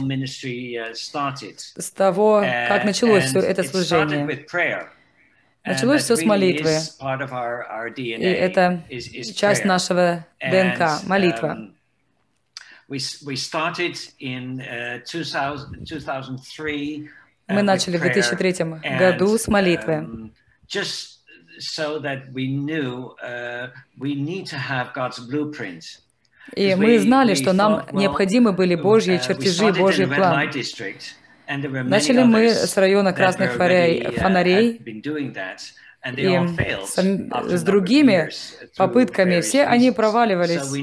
с того, как началось все это служение. Началось все с молитвы. И это часть нашего ДНК, молитва. Мы начали в 2003 году с молитвы. И мы знали, что нам необходимы были Божьи чертежи, Божий план. Начали мы с района красных фонарей, и с другими попытками все они проваливались в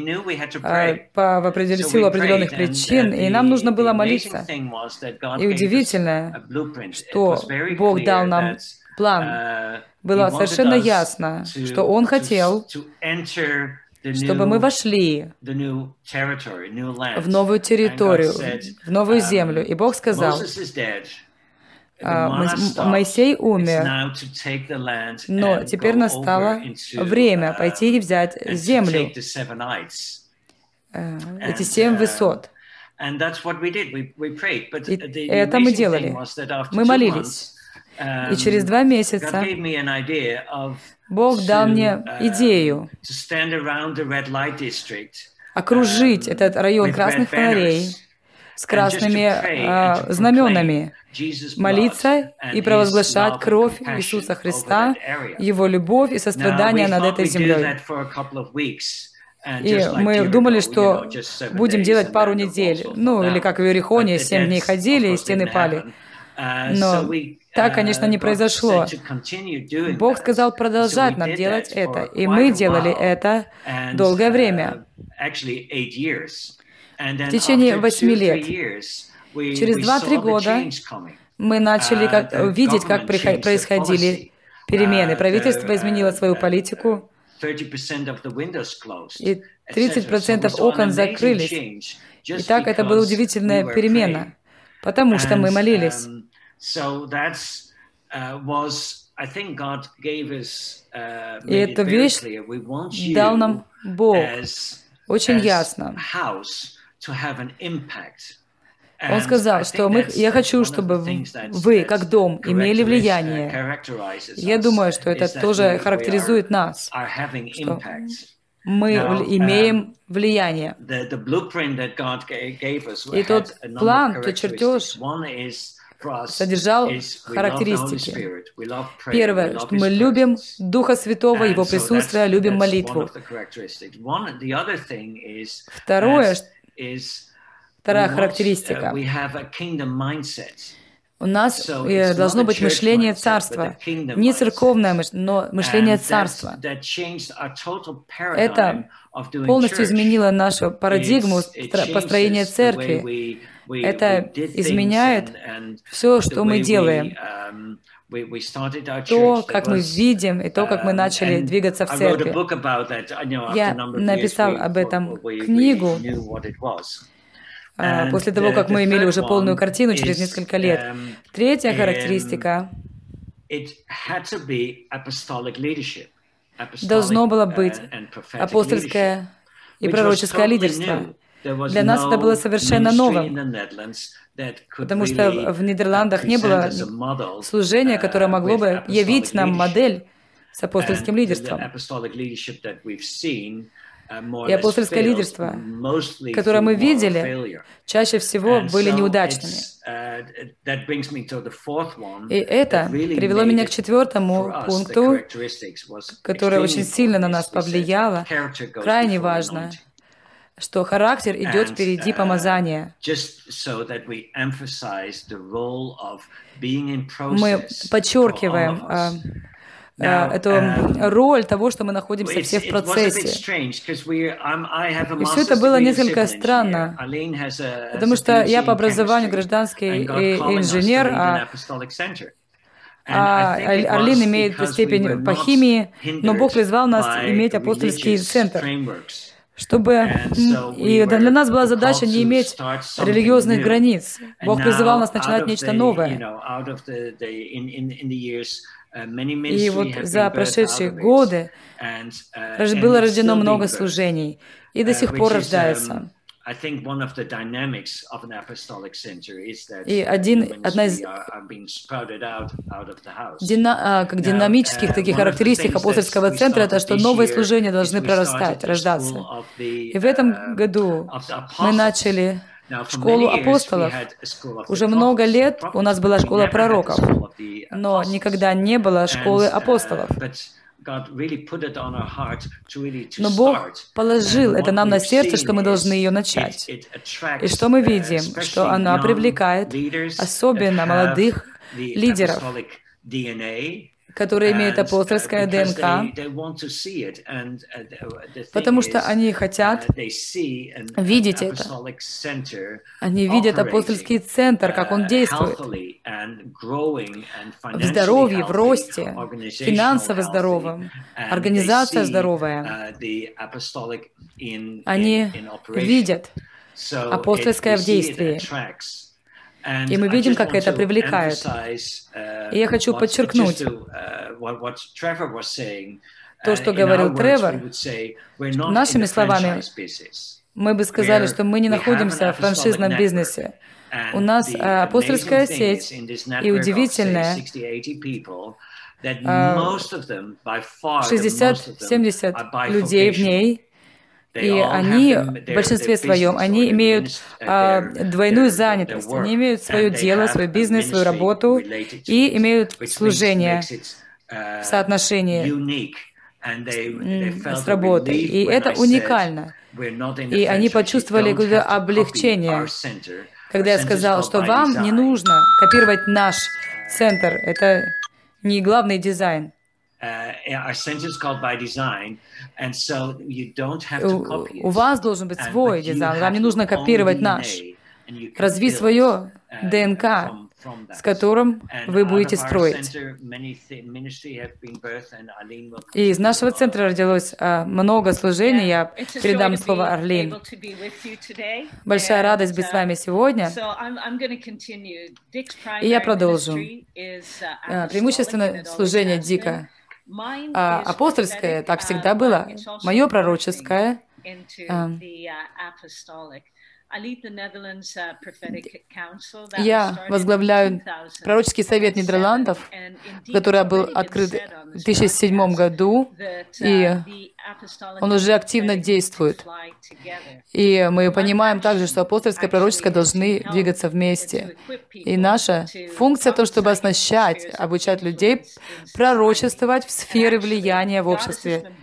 силу определенных причин, и нам нужно было молиться. И удивительно, что Бог дал нам план. Было совершенно ясно, что Он хотел, чтобы мы вошли в новую территорию, в новую землю. И Бог сказал, Моисей умер, но теперь настало время пойти и взять землю, эти 7 высот. И это мы делали. Мы молились. И через 2 месяца Бог дал мне идею окружить этот район красных фонарей с красными знаменами, молиться и провозглашать кровь Иисуса Христа, Его любовь и сострадание над этой землей. И мы думали, что будем делать пару недель, или как в Иерихоне, 7 дней ходили, и стены пали. Но Так, конечно, не произошло. Бог сказал продолжать нам делать это, и мы делали это долгое время, в течение 8 лет. Через 2-3 года мы начали видеть, как происходили перемены. Правительство изменило свою политику, и 30% окон закрылись. И так это была удивительная перемена, потому что мы молились. И эту вещь дал нам Бог очень ясно. Он сказал, что я хочу, чтобы вы, как дом, имели влияние. Я думаю, что это тоже характеризует нас, что мы имеем влияние. И тот план, тот чертеж содержал характеристики. Первое, что мы любим Духа Святого, Его присутствие, любим молитву. Вторая характеристика. У нас должно быть мышление царства. Не церковное мышление, но мышление царства. Это полностью изменило нашу парадигму построения церкви. Это изменяет все, что мы делаем. То, как мы видим, и то, как мы начали двигаться в церкви. Я написал об этом книгу после того, как мы имели уже полную картину через несколько лет. Третья характеристика. Должно было быть апостольское и пророческое лидерство. Для нас это было совершенно новым, потому что в Нидерландах не было служения, которое могло бы явить нам модель с апостольским лидерством. И апостольское лидерство, которое мы видели, чаще всего были неудачными. И это привело меня к 4-му пункту, который очень сильно на нас повлияло, крайне важно, что характер идет впереди помазания. Мы подчеркиваем эту роль того, что мы находимся все в процессе. И все это было несколько странно, потому что я по образованию гражданский инженер, а Арлин имеет степень по химии, но Бог призвал нас иметь апостольский центр. И для нас была задача не иметь религиозных границ. Бог призывал нас начинать нечто новое. И вот за прошедшие годы было рождено много служений, и до сих пор рождается. И одна из динамических таких характеристик апостольского центра — это что новые служения должны прорастать, рождаться. И в этом году мы начали школу апостолов. Уже много лет у нас была школа пророков, но никогда не было школы апостолов. Но Бог положил это нам на сердце, что мы должны ее начать. И что мы видим? Что она привлекает особенно молодых лидеров, которые имеют апостольское ДНК, потому что они хотят видеть это. Они видят апостольский центр, как он действует. В здоровье, в росте, финансово здоровом, организация здоровая. Они видят апостольское в действии. И мы видим, как это привлекает. И я хочу подчеркнуть то, что говорил Тревор. Нашими словами, мы бы сказали, что мы не находимся в франшизном бизнесе. У нас апостольская сеть, и удивительная, 60-70 людей в ней, и они, в большинстве своем, они имеют двойную занятость. Они имеют свое дело, свой бизнес, свою работу и имеют служение в соотношении с работой. И это уникально. И они почувствовали какое-то облегчение, когда я сказал, что вам не нужно копировать наш центр, это не главный дизайн. У вас должен быть свой дизайн, вам не нужно копировать наш. Развить свое ДНК, с которым вы будете строить. И из нашего центра родилось много служений. Я передам слово Арлин. Большая радость быть с вами сегодня. И я продолжу. Преимущественно служение Дика. Апостольское так всегда было. Мое пророческое. Я возглавляю пророческий совет Нидерландов, который был открыт в 2007 году, и он уже активно действует. И мы понимаем также, что апостольское и пророческое должны двигаться вместе. И наша функция — то, чтобы оснащать, обучать людей пророчествовать в сфере влияния в обществе.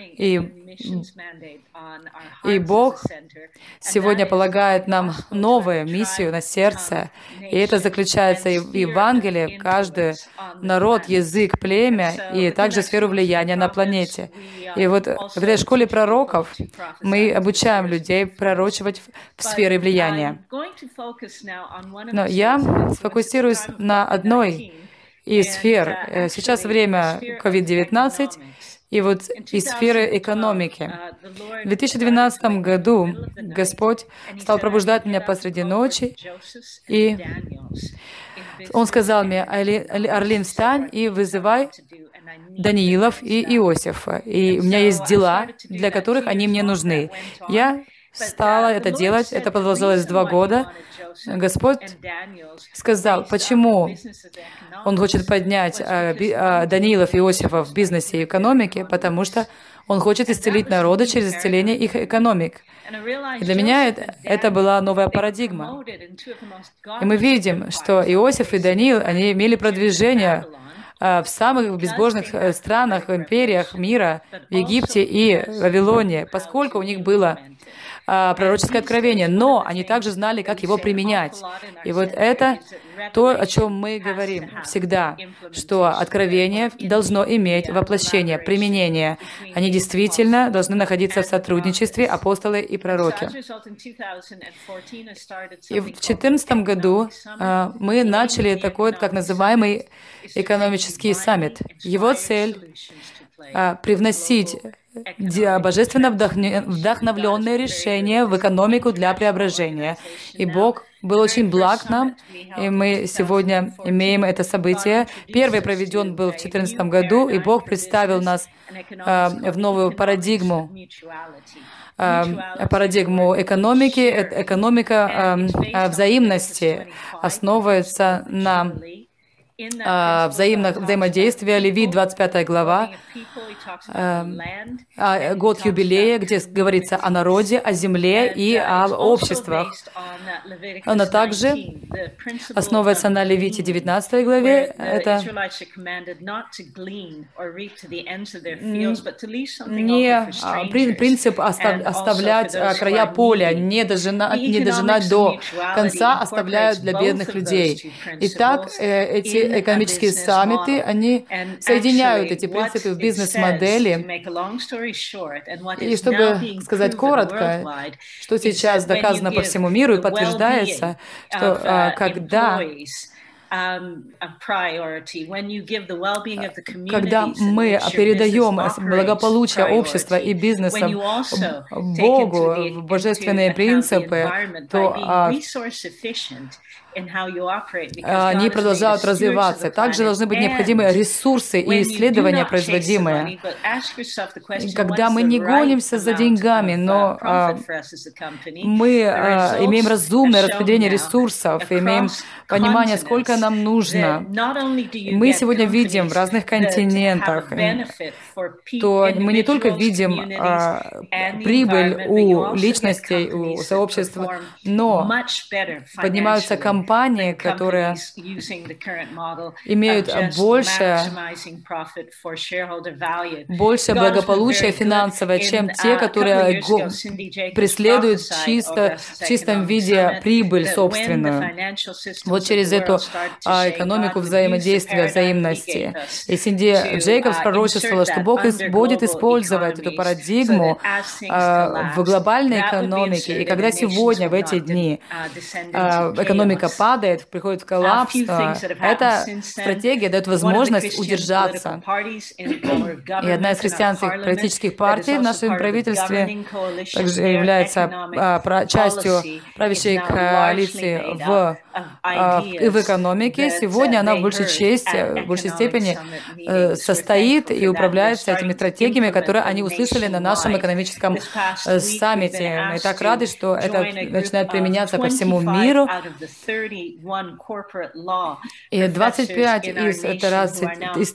И Бог сегодня полагает нам новую миссию на сердце, и это заключается и в Евангелии, каждый народ, язык, племя, и также сферу влияния на планете. И вот в этой школе пророков мы обучаем людей пророчивать в сфере влияния. Но я сфокусируюсь на одной из сфер. Сейчас время COVID-19, и вот из сферы экономики. В 2012 году Господь стал пробуждать меня посреди ночи, и Он сказал мне: «Арлин, встань и вызывай Даниилов и Иосифа. И у меня есть дела, для которых они мне нужны». Я стала это делать, это продолжалось 2 года. Господь сказал, почему Он хочет поднять Даниилов и Иосифа в бизнесе и экономике, потому что Он хочет исцелить народы через исцеление их экономик. И для меня это была новая парадигма. И мы видим, что Иосиф и Даниил, они имели продвижение в самых безбожных странах, империях мира, в Египте и Вавилоне, поскольку у них было пророческое откровение, но они также знали, как его применять. И вот это то, о чем мы говорим всегда, что откровение должно иметь воплощение, применение. Они действительно должны находиться в сотрудничестве, апостолы и пророки. И в 2014 году мы начали такой, так называемый экономический саммит. Его цель — привносить божественно вдохновленные решения в экономику для преображения. И Бог был очень благ нам, и мы сегодня имеем это событие. Первый проведен был в 2014 году, и Бог представил нас в новую парадигму экономики. Экономика взаимности основывается на взаимодействие. Левит, 25 глава, год юбилея, где говорится о народе, о земле и о обществах. Она также основывается на Левите, 19 главе. Это не принцип оставлять края поля, не дожинать до конца, оставляют для бедных людей. Итак, эти экономические саммиты, они соединяют эти принципы в бизнес-модели. И чтобы сказать коротко, что сейчас доказано по всему миру и подтверждается, что когда мы передаем благополучие общества и бизнеса Богу, божественные принципы, то они продолжают развиваться. Также должны быть необходимые ресурсы и исследования производимые. Когда мы не гонимся за деньгами, но мы имеем разумное распределение ресурсов, имеем понимание, сколько нам нужно. Мы сегодня видим в разных континентах, то мы не только видим прибыль у личностей, у сообщества, но поднимаются компании, которые имеют больше благополучия финансовое, чем те, которые преследуют в чистом виде прибыль собственную. Вот через эту экономику взаимодействия, взаимности. И Синди Джейкобс пророчествовала, что Бог будет использовать эту парадигму в глобальной экономике. И когда сегодня, в эти дни, экономика падает, приходит в коллапс, эта стратегия дает возможность удержаться. И одна из христианских политических партий в нашем правительстве также является частью правящей коалиции в экономике. Сегодня она в большей степени состоит и управляется этими стратегиями, которые они услышали на нашем экономическом саммите. Мы так рады, что это начинает применяться по всему миру. И 25 из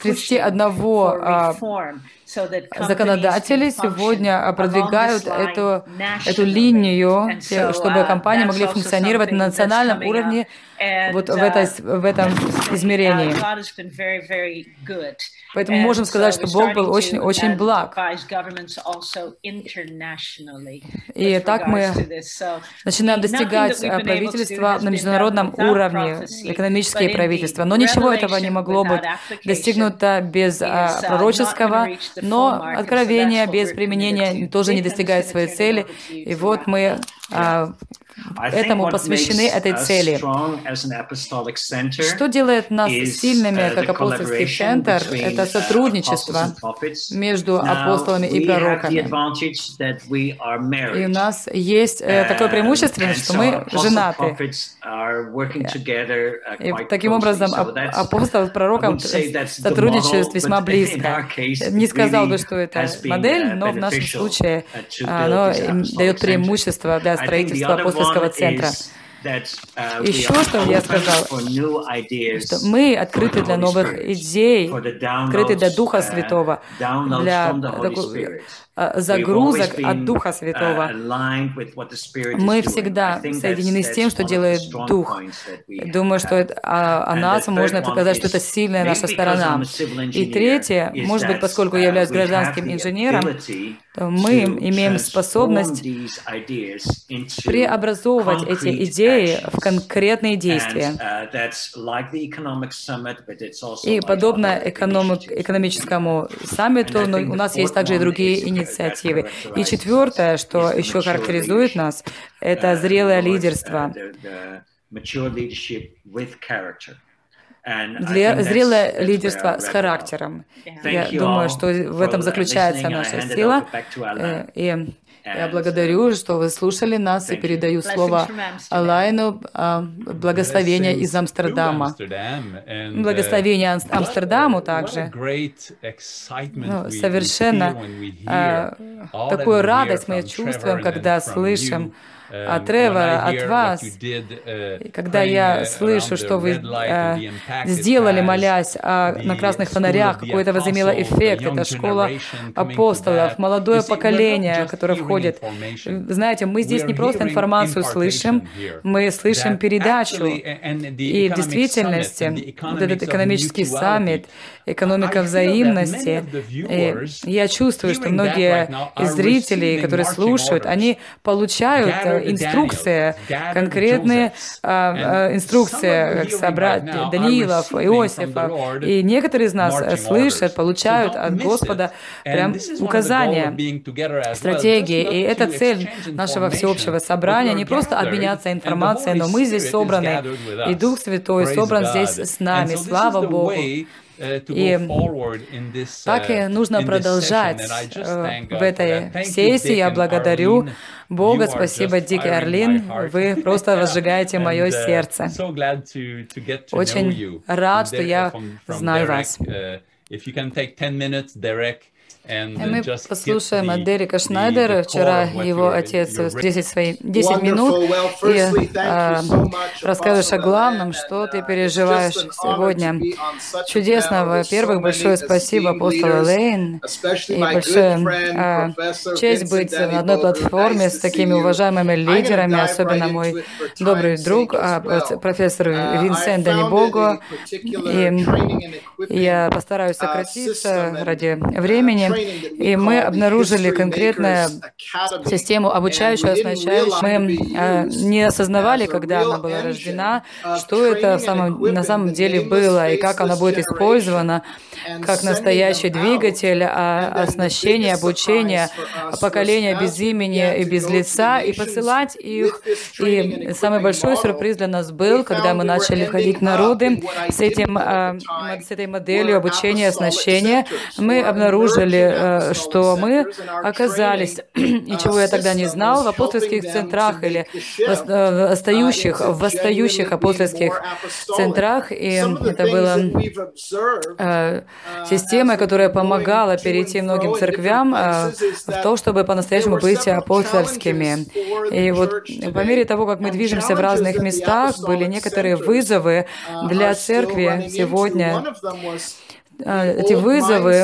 31 законодатели сегодня продвигают эту линию, чтобы компании могли функционировать на национальном уровне вот в этом измерении. Поэтому можем сказать, что Бог был очень-очень благ. И так мы начинаем достигать правительства на международном уровне, экономические правительства. Но ничего этого не могло быть достигнуто без пророческого, но откровение без применения тоже не достигает своей цели. И вот мы этому посвящены этой цели. Что делает нас сильными, как апостольский центр, это сотрудничество между апостолами и пророками. И у нас есть такое преимущество, что мы женаты. И таким образом апостол с пророком сотрудничают весьма близко. Не сказал бы, что это модель, но в нашем случае оно дает преимущество для строительства апостольского центра. Еще что я сказал, что мы открыты для новых идей, открыты для Духа Святого, для загрузок от Духа Святого. Мы всегда соединены с тем, что делает Дух. Думаю, что о нас можно сказать, что это сильная наша сторона. И третье, может быть, поскольку я являюсь гражданским инженером, то мы имеем способность преобразовывать эти идеи в конкретные действия. И подобно экономическому саммиту, но у нас есть также и другие инициативы. И четвертое, что еще характеризует нас, это зрелое лидерство. Зрелое лидерство с характером. Я думаю, что в этом заключается наша сила. И я благодарю, что вы слушали нас, и передаю слово Алайну, благословение из Амстердама. Благословение Амстердаму также. Совершенно такую радость мы чувствуем, когда слышим от Тревора, от вас, когда я слышу, что вы сделали, молясь на красных фонарях, какой это возымело эффект. Это школа апостолов, молодое поколение, которое входит. Знаете, мы здесь не просто информацию слышим, мы слышим передачу. И в действительности, вот этот экономический саммит, экономика взаимности, и я чувствую, что многие из зрителей, которые слушают, они получают инструкции, конкретные инструкции, как собрать Даниилов, Иосифа. И некоторые из нас слышат, получают от Господа прям указания, стратегии. И это цель нашего всеобщего собрания, не просто обменяться информацией, но мы здесь собраны, и Дух Святой собран здесь с нами. Слава Богу! И так и нужно продолжать в этой сессии. Я благодарю Бога. Спасибо, Дик и Арлин. Вы просто возжигаете мое сердце. Очень рад, что я знаю вас. И мы послушаем от Дерека Шнайдера. Вчера его отец 10 минут и расскажешь о главном, что ты переживаешь сегодня. Чудесно. Во-первых, большое спасибо апостолу Лейн. И большая честь быть на одной платформе с такими уважаемыми лидерами, особенно мой добрый друг, профессор Винсент Данибого. И я постараюсь сократиться ради времени. И мы обнаружили конкретную систему обучающую, оснащающую. Мы не осознавали, когда она была рождена, что это на самом деле было и как она будет использована как настоящий двигатель оснащения, обучения поколения без имени и без лица, и посылать их. И самый большой сюрприз для нас был, когда мы начали входить в народы с этой моделью обучения, оснащения. Мы обнаружили, что мы оказались, и чего я тогда не знал, в апостольских центрах или в восстающих апостольских центрах. И это была система, которая помогала перейти многим церквям в то, чтобы по-настоящему быть апостольскими. И вот по мере того, как мы движемся в разных местах, были некоторые вызовы для церкви сегодня. Эти вызовы,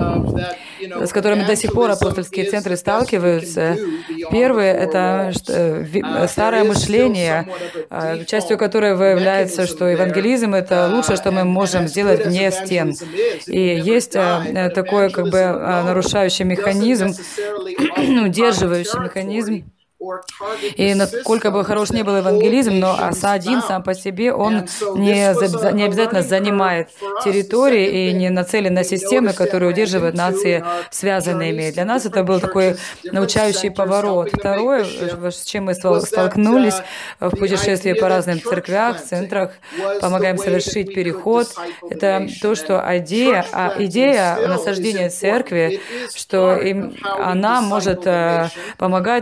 с которыми до сих пор апостольские центры сталкиваются. Первое — это старое мышление, частью которого является, что евангелизм — это лучшее, что мы можем сделать вне стен. И есть такой нарушающий механизм, удерживающий механизм. И насколько бы хорош ни был евангелизм, но один сам по себе, он не обязательно занимает территории и не нацелен на системы, которые удерживают нации связанными. Для нас это был такой научающий поворот. Второе, с чем мы столкнулись в путешествии по разным церквях, центрах, помогаем совершить переход, это то, что идея насаждения церкви, что она может помогать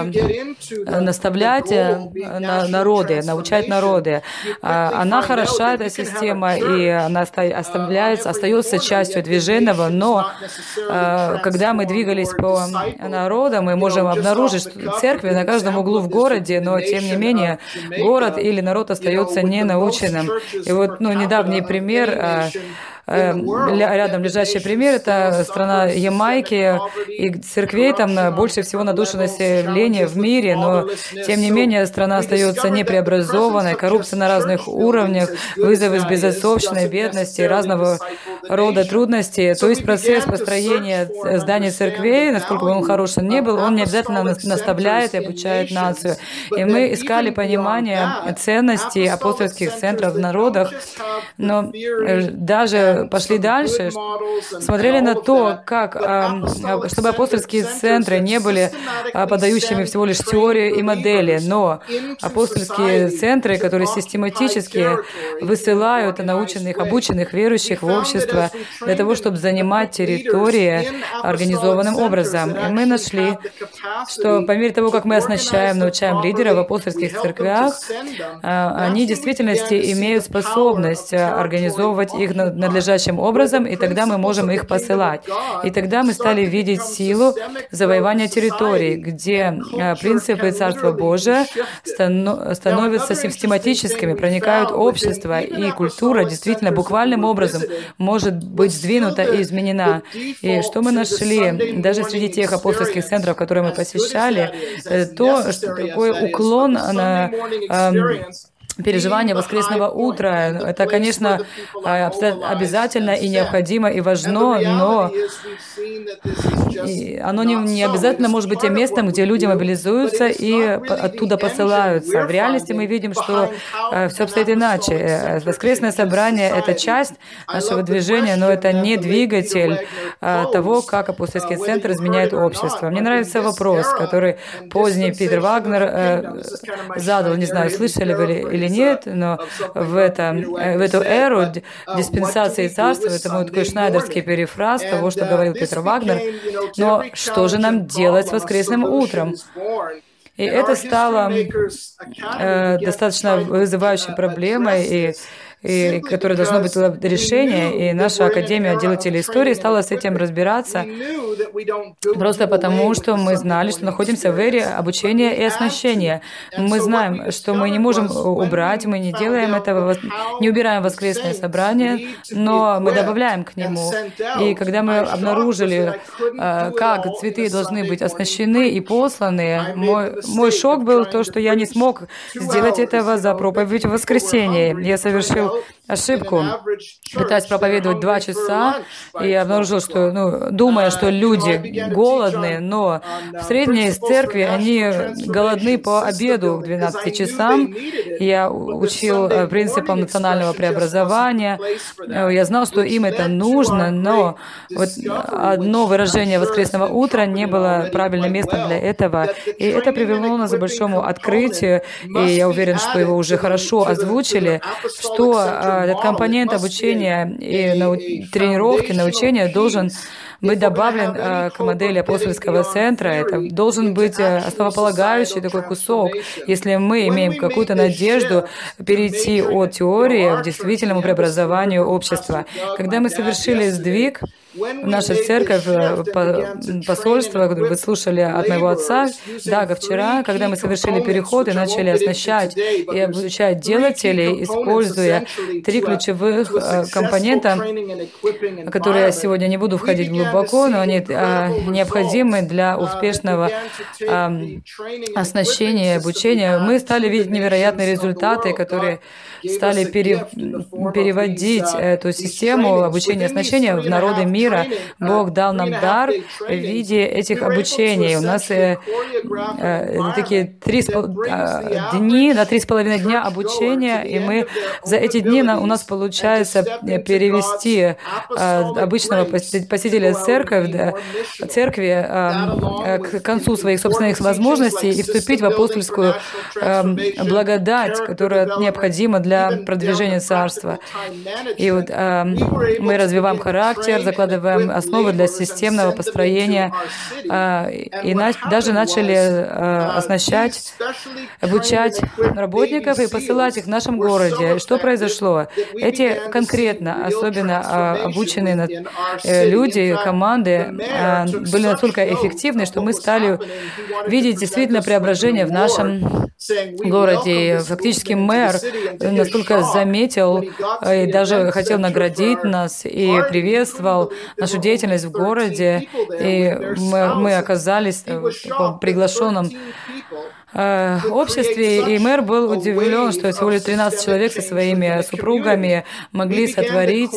наставлять народы, научать народы. Она хороша, эта система, и она остается частью движенного, но когда мы двигались по народам, мы можем обнаружить, что церкви на каждом углу в городе, но тем не менее город или народ остается ненаученным. И вот недавний пример, рядом лежащий пример — это страна Ямайки, и церквей там больше всего на душу населения в мире, но, тем не менее, страна остается непреобразованной, коррупция на разных уровнях, вызовы с безотцовщиной, бедности, разного рода трудности. То есть процесс построения зданий церквей, насколько бы он хороший ни был, он не обязательно наставляет и обучает нацию. И мы искали понимание ценностей апостольских центров в народах, но даже пошли дальше, смотрели на то, как, чтобы апостольские центры не были подающими всего лишь теорию и модели, но апостольские центры, которые систематически высылают наученных, обученных верующих в общество для того, чтобы занимать территории организованным образом. И мы нашли, что по мере того, как мы оснащаем, научаем лидеров в апостольских церквях, они в действительности имеют способность организовывать их надлежащим образом, и тогда мы можем их посылать. И тогда мы стали видеть силу завоевания территорий, где принципы Царства Божия становятся систематическими, проникают в общество, и культура действительно буквальным образом может быть сдвинута и изменена. И что мы нашли, даже среди тех апостольских центров, которые мы посещали, то, что такой уклон на переживание воскресного утра. Это, конечно, обязательно и необходимо, и важно, но оно не обязательно может быть тем местом, где люди мобилизуются и оттуда посылаются. В реальности мы видим, что все обстоит иначе. Воскресное собрание — это часть нашего движения, но это не двигатель того, как апостольский центр изменяет общество. Мне нравится вопрос, который поздний Питер Вагнер задал, не знаю, слышали вы или нет, но в эту эру диспенсации царства, это мой такой шнайдерский перефраз того, что говорил Питер Вагнер, но что же нам делать с воскресным утром? И это стало достаточно вызывающей проблемой, и и которое должно быть решение, и наша Академия делателей истории стала с этим разбираться просто потому, что мы знали, что находимся в эре обучения и оснащения. Мы знаем, что мы не можем убрать, мы не делаем этого, не убираем воскресное собрание, но мы добавляем к нему. И когда мы обнаружили, как цветы должны быть оснащены и посланы, мой шок был то, что я не смог сделать этого за проповедь в воскресенье. Я совершил ошибку, пытаясь проповедовать 2 часа, и я обнаружил, что, думая, что люди голодные, но в средней церкви они голодны по обеду к 12 часам. Я учил принципам национального преобразования. Я знал, что им это нужно, но вот одно выражение воскресного утра не было правильным местом для этого. И это привело нас к большому открытию, и я уверен, что его уже хорошо озвучили, что этот компонент обучения и тренировки, научения должен быть добавлен к модели апостольского центра. Это должен быть основополагающий такой кусок, если мы имеем какую-то надежду перейти от теории к действительному преобразованию общества. Когда мы совершили сдвиг, наша церковь, посольство, которое вы слушали от моего отца, Дага, вчера, когда мы совершили переход и начали оснащать и обучать делателей, используя 3 ключевых компонента, которые я сегодня не буду входить глубоко, но они необходимы для успешного оснащения и обучения, мы стали видеть невероятные результаты, которые стали переводить эту систему обучения и оснащения в народы мира. Бог дал нам дар в виде этих обучений. У нас такие 3,5 дни, на 3,5 дня обучения, и мы за эти дни у нас получается перевести обычного посетителя церкви к концу своих собственных возможностей и вступить в апостольскую благодать, которая необходима для продвижения Царства. И вот мы развиваем характер, закладываем основы для системного построения, и даже начали оснащать, обучать работников и посылать их в нашем городе. Что произошло? Эти конкретно, особенно обученные люди, команды, были настолько эффективны, что мы стали видеть действительно преображение в нашем городе. И фактически мэр настолько заметил и даже хотел наградить нас и приветствовал нашу деятельность в городе, и мы оказались в таком приглашенном обществе, и мэр был удивлен, что всего лишь 13 человек со своими супругами могли сотворить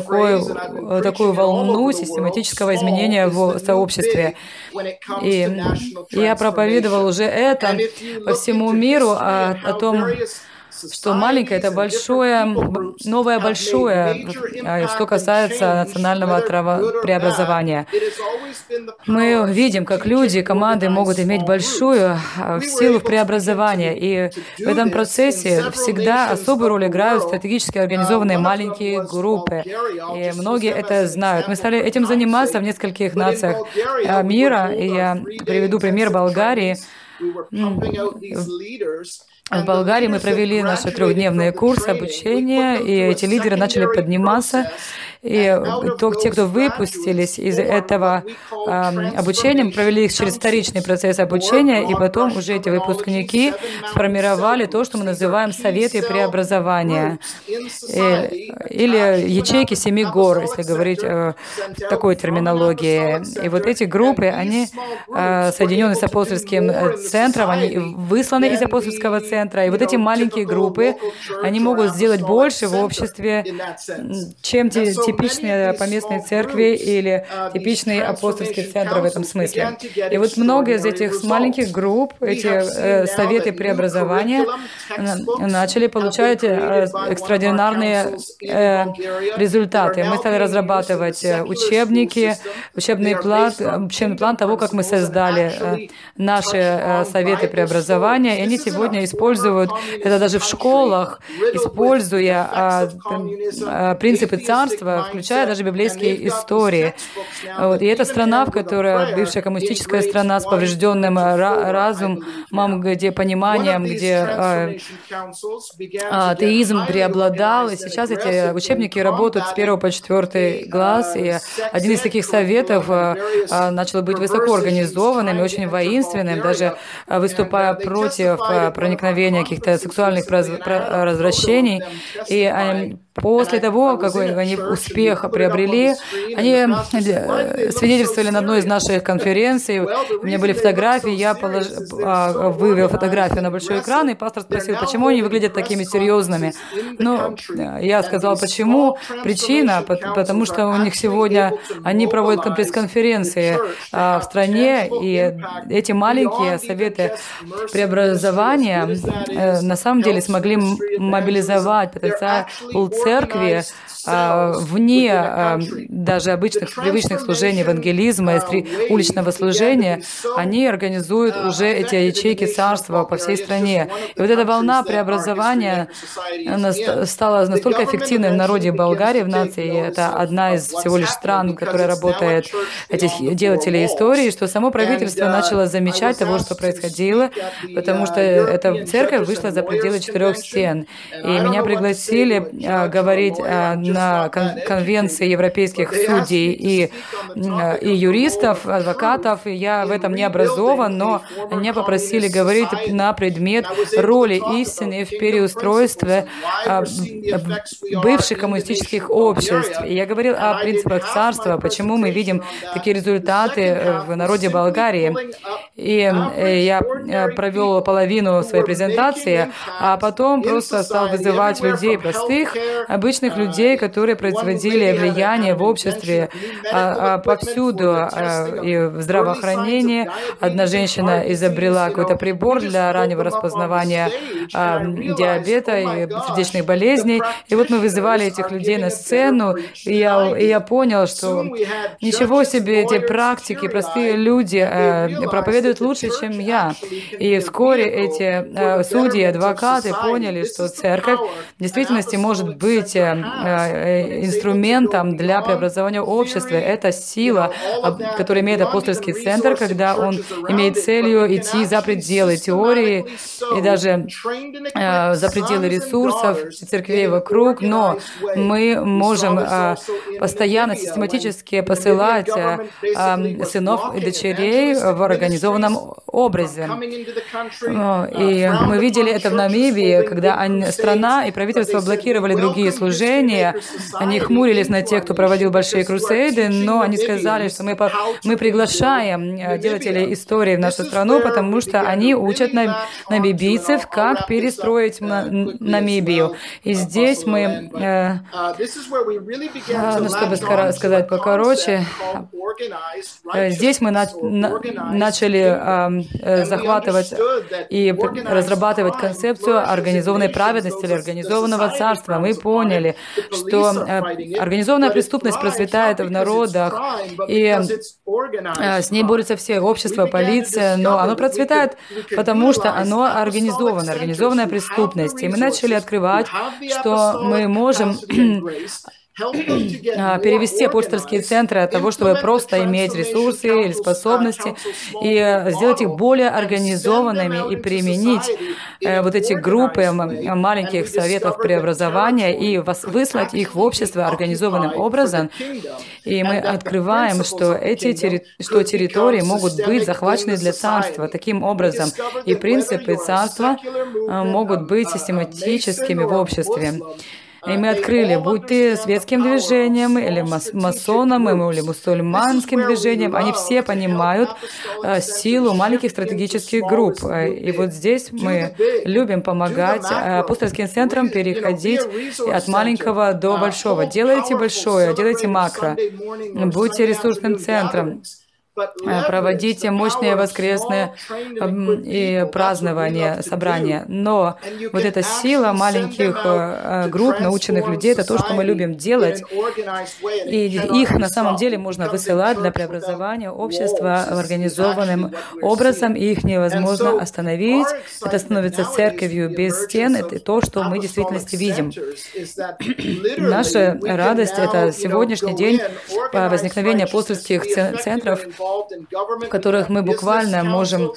такую волну систематического изменения в сообществе. И я проповедовал уже это по всему миру, о том, что маленькое — это большое, новое большое, что касается национального преобразования. Мы видим, как люди, команды могут иметь большую силу в преобразовании, и в этом процессе всегда особую роль играют стратегически организованные маленькие группы. И многие это знают. Мы стали этим заниматься в нескольких нациях мира, и я приведу пример Болгарии. В Болгарии мы провели наши 3-дневные курсы обучения, и эти лидеры начали подниматься. И те, кто выпустились из этого обучения, мы провели их через вторичный процесс обучения, и потом уже эти выпускники сформировали то, что мы называем советы преобразования, или ячейки 7 гор, если говорить в такой терминологии. И вот эти группы, они соединены с апостольским центром, они высланы из апостольского центра, и вот эти маленькие группы, они могут сделать больше в обществе, чем типичные поместные церкви или типичные апостольские центры в этом смысле. И вот много из этих маленьких групп, эти советы преобразования начали получать экстраординарные результаты. Мы стали разрабатывать учебники, учебный план того, как мы создали наши советы преобразования, и они сегодня используют это даже в школах, используя принципы царства, включая даже библейские истории. Вот. И это страна, в которой бывшая коммунистическая страна с поврежденным разумом, где пониманием, где атеизм преобладал. И сейчас эти учебники работают с 1 по 4 класс. И один из таких советов начал быть высоко организованным и очень воинственным, даже выступая против проникновения каких-то сексуальных развращений. И после того, какой они успех приобрели, они свидетельствовали на одной из наших конференций. У меня были фотографии, я вывел фотографию на большой экран, и пастор спросил, почему они выглядят такими серьезными. Ну, я сказал, почему. Причина, потому что у них сегодня, они проводят пресс-конференции в стране, и эти маленькие советы преобразования на самом деле смогли мобилизовать потенциал церкви вне даже обычных, привычных служений евангелизма, уличного служения. Они организуют уже эти ячейки царства по всей стране. И вот эта волна преобразования стала настолько эффективной в народе Болгарии, в нации. Это одна из всего лишь стран, в которой работает этих делателей истории, что само правительство начало замечать того, что происходило, потому что эта церковь вышла за пределы 4 стен. И меня пригласили говорить на конвенции европейских судей и юристов, адвокатов, и я в этом не образован, но меня попросили говорить на предмет роли истины в переустройстве бывших коммунистических обществ. И я говорил о принципах царства, почему мы видим такие результаты в народе Болгарии. И я провел половину своей презентации, а потом просто стал вызывать людей простых, обычных людей, которые производили влияние в обществе повсюду и в здравоохранении. Одна женщина изобрела какой-то прибор для раннего распознавания диабета и сердечных болезней. И вот мы вызывали этих людей на сцену, и я понял, что ничего себе, эти практики, простые люди проповедуют лучше, чем я. И вскоре эти судьи и адвокаты поняли, что церковь в действительности может быть инструментом для преобразования общества. Это сила, которую имеет апостольский центр, когда он имеет целью идти за пределы теории и даже за пределы ресурсов церквей вокруг, но мы можем постоянно, систематически посылать сынов и дочерей в организованном образе. И мы видели это в Намибии, когда страна и правительство блокировали другие служения. Они хмурились на тех, кто проводил большие крусейды, но они сказали, что мы приглашаем делателей истории в нашу страну, потому что они учат намибийцев, как перестроить Намибию. И здесь мы, чтобы сказать покороче, здесь мы начали захватывать и разрабатывать концепцию организованной праведности или организованного царства. Мы поняли, что организованная преступность процветает в народах, и с ней борются все общество, полиция, но оно процветает, потому что оно организовано, организованная преступность. И мы начали открывать, что мы можем перевести апостольские центры от того, чтобы просто иметь ресурсы или способности, и сделать их более организованными и применить вот эти группы маленьких советов преобразования и выслать их в общество организованным образом. И мы открываем, что территории могут быть захвачены для царства таким образом, и принципы царства могут быть систематическими в обществе. И мы открыли, будь ты светским движением, или масоном, или мусульманским движением, они все понимают силу маленьких стратегических групп. И вот здесь мы любим помогать апостольским центрам переходить от маленького до большого. Делайте большое, делайте макро, будьте ресурсным центром. проводить мощные воскресные и празднования, собрания. Но вот эта сила маленьких групп наученных людей — это то, что мы любим делать. И их на самом деле можно высылать для преобразования общества организованным образом, и их невозможно остановить. Это становится церковью без стен. Это то, что мы в действительности видим. Наша радость — это сегодняшний день возникновения апостольских центров, в которых мы буквально можем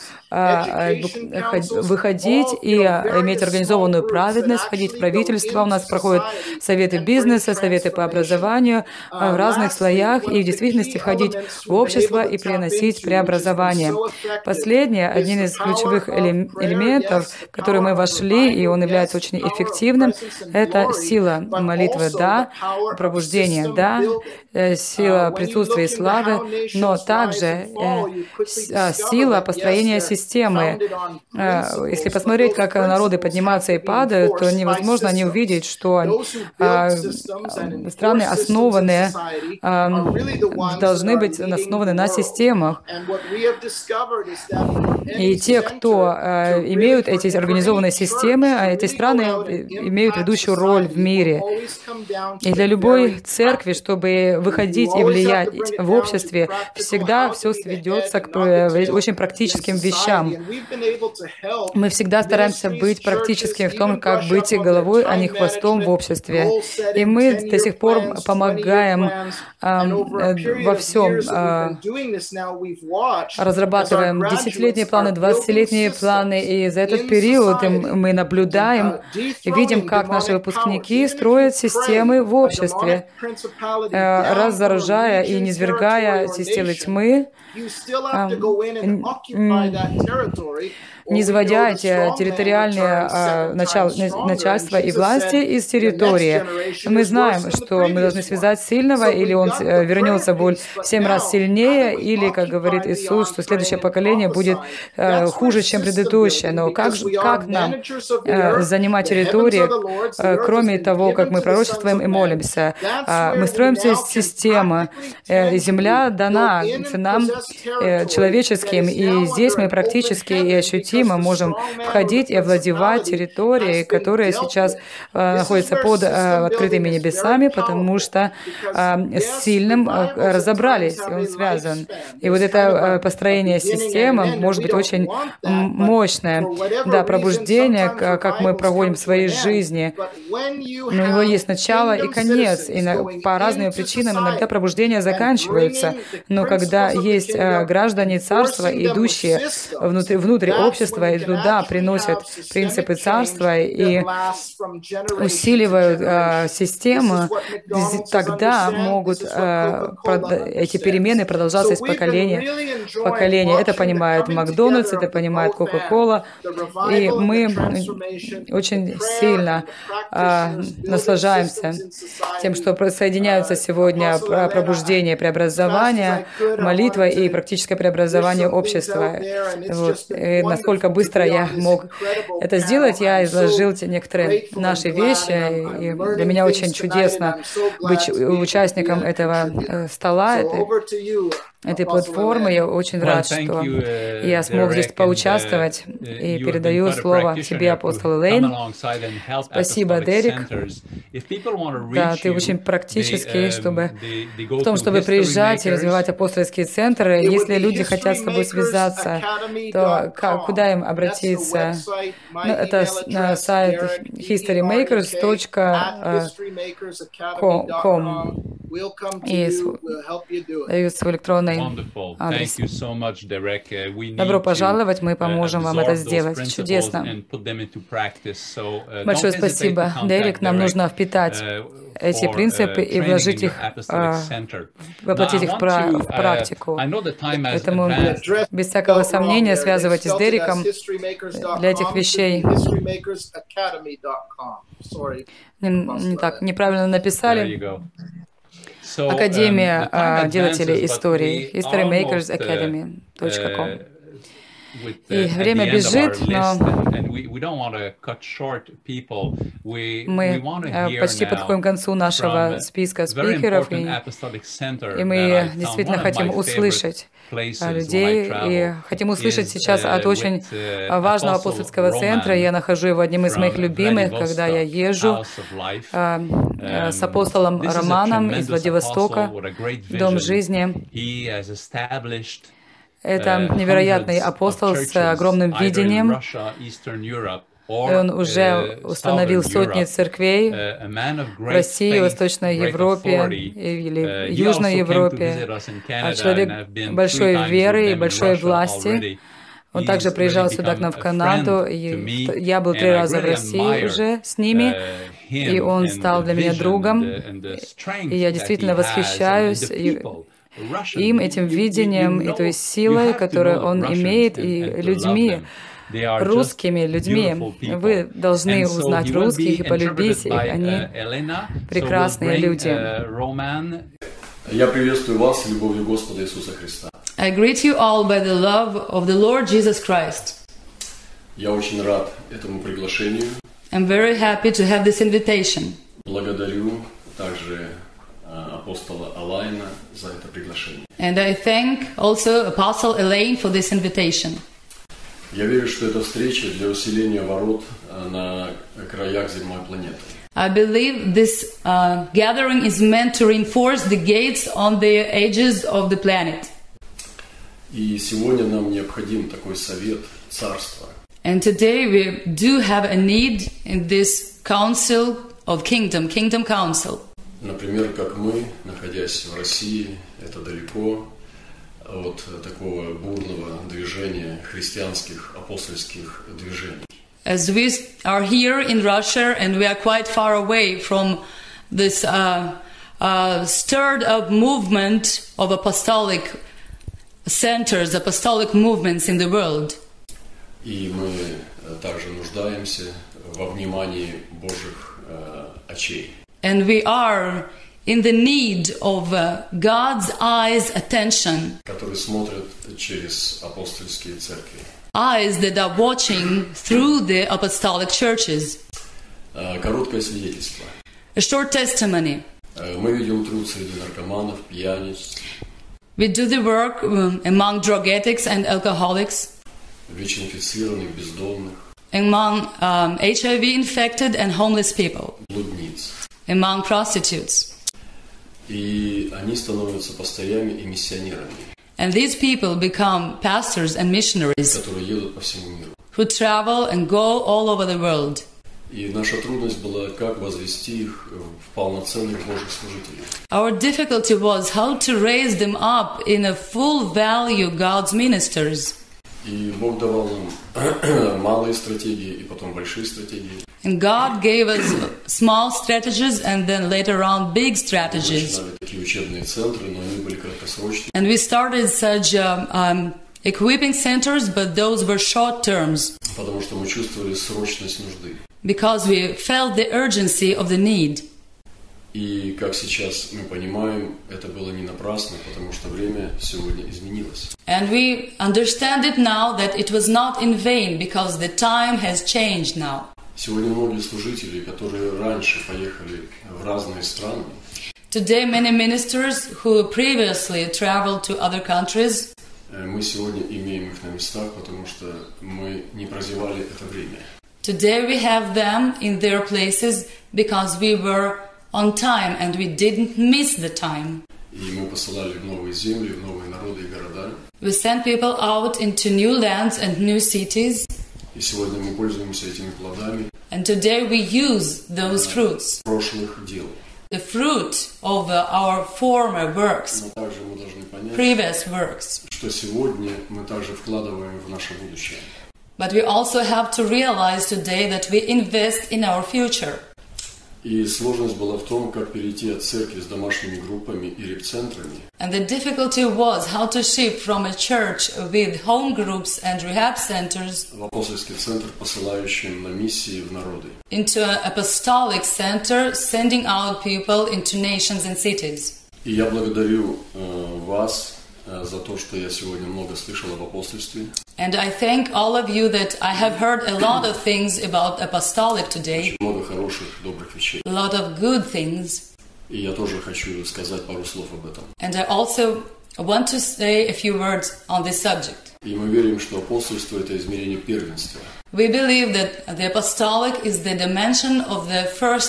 выходить и иметь организованную праведность, ходить в правительство. У нас проходят советы бизнеса, советы по образованию в разных слоях, и в действительности входить в общество и приносить преобразование. Последнее, один из ключевых элементов, в который мы вошли, и он является очень эффективным, это сила молитвы, да, пробуждение, да, сила присутствия и славы, но также сила построения системы. Если посмотреть, как народы поднимаются и падают, то невозможно не увидеть, что страны основанные должны быть основаны на системах. И те, кто имеют эти организованные системы, эти страны имеют ведущую роль в мире. И для любой церкви, чтобы выходить и влиять в обществе, всегда все сведется к очень практическим вещам. Мы всегда стараемся быть практическими в том, как быть головой, а не хвостом в обществе. И мы до сих пор помогаем во всем. Разрабатываем 10-летние планы, 20-летние планы, и за этот период мы наблюдаем и видим, как наши выпускники строят системы в обществе, разоружая и низвергая системы тьмы, низводя эти территориальные начальства и власти из территории. Мы знаем, что мы должны связать сильного, или он вернется в 7 раз сильнее, или, как говорит Иисус, что следующее поколение будет хуже, чем предыдущее. Но как нам занимать территории, кроме того, как мы пророчествуем и молимся? Мы строим систему, и земля дана нам человеческим, и здесь мы практически и ощутимо можем входить и овладевать территорией, которые сейчас находятся под открытыми небесами, потому что с сильным разобрались, и он связан. И вот это построение системы может быть очень мощное. Да, пробуждение, как мы проводим в своей жизни, но у него есть начало и конец, и по разным причинам иногда пробуждения заканчиваются. Но когда есть граждане царства, идущие внутрь общества, и туда приносят принципы царства и усиливают систему, тогда могут эти перемены продолжаться из поколения в поколение. Это понимает Макдональдс, это понимает Кока-Кола, и мы очень сильно наслаждаемся тем, что соединяются сегодня пробуждение, преобразование, молитва и практическое преобразование общества. Вот. И насколько быстро я мог это сделать, я изложил некоторые наши вещи, и для меня очень чудесно быть участником этого стола, этой платформы. Я очень рад, что я смог здесь поучаствовать, и передаю слово тебе, апостол Элейн. Спасибо, Дерек. Да, ты очень практический в том, чтобы приезжать и развивать апостольские центры. Если люди хотят с тобой связаться, то куда им обратиться? Это сайт historymakers.com. И дают свой электронный адрес. Добро пожаловать, мы поможем вам это сделать. Чудесно. Большое спасибо, Дерек. Нам нужно впитать эти принципы и вложить их, воплотить их в практику. Поэтому, без всякого сомнения, связывайтесь с Дереком для этих вещей. Неправильно написали. Академия делателей истории, historymakersacademy.com. И время бежит, но мы почти подходим к концу нашего списка спикеров, и мы действительно хотим услышать людей, и хотим услышать сейчас от очень важного апостольского центра. Я нахожу его одним из моих любимых, когда я езжу с апостолом Романом из Владивостока, Дом жизни. Это невероятный апостол с огромным видением. Он уже установил сотни церквей в России, Восточной Европе или Южной Европе. Человек большой веры и большой власти. Он также приезжал сюда к нам в Канаду, и я был 3 раза в России уже с ними, и он стал для меня другом, и я действительно восхищаюсь им, этим видением, и той силой, которую он имеет, и людьми, русскими людьми. Вы должны узнать русских и полюбить их, они прекрасные люди. Я приветствую вас любовью Господа Иисуса Христа. I greet you all by the love of the Lord Jesus Christ. Я очень рад этому приглашению. I'm very happy to have this invitation. Благодарю также апостола Алайна за это приглашение. And I thank also Apostle Elaine for this invitation. Я верю, что это встреча для усиления ворот на краях земной планеты. I believe this gathering is meant to reinforce the gates on the edges of the planet. И сегодня нам необходим такой совет царства. And today we do have a need in this council of kingdom council. Например, как мы, находясь в России, это далеко от такого бурного движения христианских апостольских движений. As we are here in Russia and we are quite far away from this stirred up movement of apostolic centers, apostolic movements in the world. И мы также нуждаемся во внимании Божьих очей. And we are in the need of God's eyes attention. Которые смотрят через апостольские церкви. Eyes that are watching through the apostolic churches. Короткое свидетельство. A short testimony. Мы ведем труд среди наркоманов, пьяниц. We do the work among drug addicts and alcoholics. ВИЧ-инфицированных, бездомных. Among HIV-infected and homeless people. Блудниц. Among prostitutes. И они становятся пастырями и миссионерами. And these people become pastors and missionaries. Которые едут по всему миру. Who travel and go all over the world. И наша трудность была, как возвести их в полноценных Божьих служителей. Our difficulty was how to raise them up in a full value God's ministers. И Бог давал нам малые стратегии и потом большие стратегии. And God gave us small strategies and then later on big strategies. Мы начинали такие учебные центры, но они были краткосрочные. And we started such equipping centers, but those were short terms. Потому что мы чувствовали срочность нужды. Because we felt the urgency of the need. И как сейчас мы понимаем, это было не напрасно, потому что время сегодня изменилось. And we understand it now that it was not in vain, because the time has changed now. Сегодня многие служители, которые раньше поехали в разные страны, Today many ministers who previously traveled to other countries, мы сегодня имеем их на местах, потому что мы не прозевали это время. Today we have them in their places because we were on time and we didn't miss the time. И мы посылали в новые земли, в новые народы и города. We sent people out into new lands and new cities. И сегодня мы пользуемся этими плодами. And today we use those fruits. Прошлых дел. The fruit of our former works. Но также мы должны понять, previous works. Что сегодня мы также вкладываем в наше будущее. But we also have to realize today that we invest in our future. И сложность была в том, как перейти от церкви с домашними группами и реп-центрами. And the difficulty was how to shift from a church with home groups and rehab centers в апостольский центр, посылающим на миссии в народы. Into an apostolic center, sending out people into nations and cities. И я благодарю вас за то, что я сегодня много слышал об апостольстве. And I thank all of you that I have heard a lot of things about apostolic today. Очень много хороших, добрых вещей. A lot of good things. И я тоже хочу сказать пару слов об этом. And I also want to say a few words on this subject. И мы верим, что апостольство – это измерение первенства. We believe that the apostolic is the dimension of the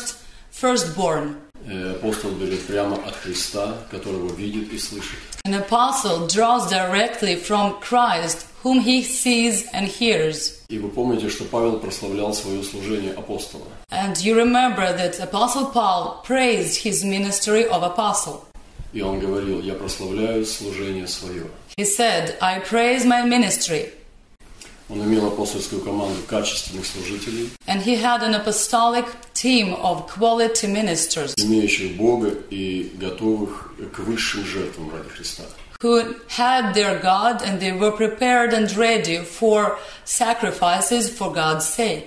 firstborn. Апостол берет прямо от Христа, которого видит и слышит. An apostle draws directly from Christ, whom he sees and hears. И вы помните, что Павел прославлял свое служение апостола. And you remember that Apostle Paul praised his ministry of apostle. И он говорил: «Я прославляю служение свое». He said, I praise my ministry. Он имел апостольскую команду качественных служителей, And he had an apostolic team of quality ministers, имеющих Бога и готовых к высшим жертвам ради Христа. who had their God and they were prepared and ready for sacrifices for God's sake.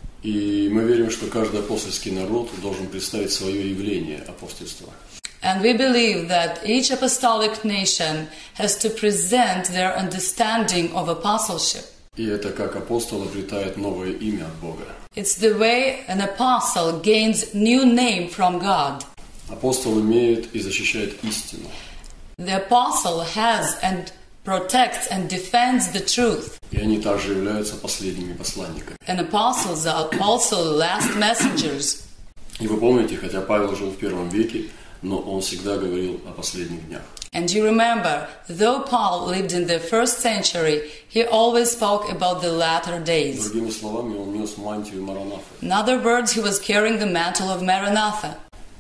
И мы верим, что каждый апостольский народ должен представить свое явление апостольства. And we believe that each apostolic nation has to present their understanding of apostleship. И это как апостол обретает новое имя от Бога. It's the way an apostle gains new name from God. Апостол имеет и защищает истину. The apostle has and protects and defends the truth. И они также являются последними посланниками. And apostles are also last messengers. И вы помните, хотя Павел жил в первом веке, но он всегда говорил о последних днях. And you remember, though Paul lived in the first century, he always spoke about the latter days. Другими словами, он нес мантию Маранафы. In other words, he was carrying the mantle of Maranatha.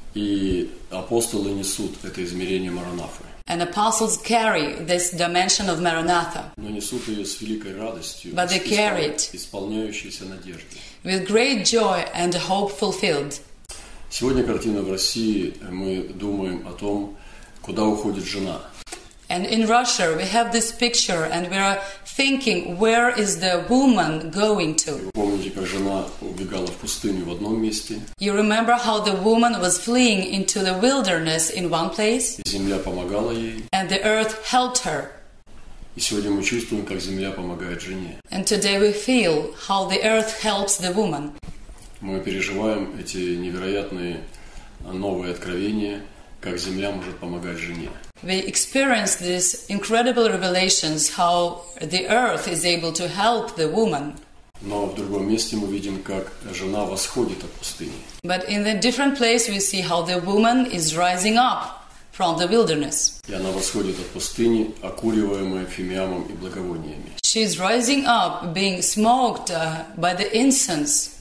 И апостолы несут это измерение Маранафы. And apostles carry this dimension of Maranatha. Но несут ее с великой радостью, But they carry it исполняющейся надеждой. with great joy and hope fulfilled. Сегодня картина в России, мы думаем о том, куда уходит жена. And in Russia we have this picture and we are thinking, where is the woman going to? Вы помните, как жена убегала в пустыню в одном месте, You remember how the woman was fleeing into the wilderness in one place и земля помогала ей. and the earth helped her. И сегодня мы чувствуем, как земля помогает жене. And today we feel how the earth helps the woman. Мы переживаем эти невероятные новые откровения, как земля может помогать жене. We experience these incredible revelations how the earth is able to help the woman. Но в другом месте мы видим, как жена восходит от пустыни. But in a different place we see how the woman is rising up from the wilderness. И она восходит от пустыни, окуриваемая фимиамом и благовониями. She is rising up, being smoked by the incense.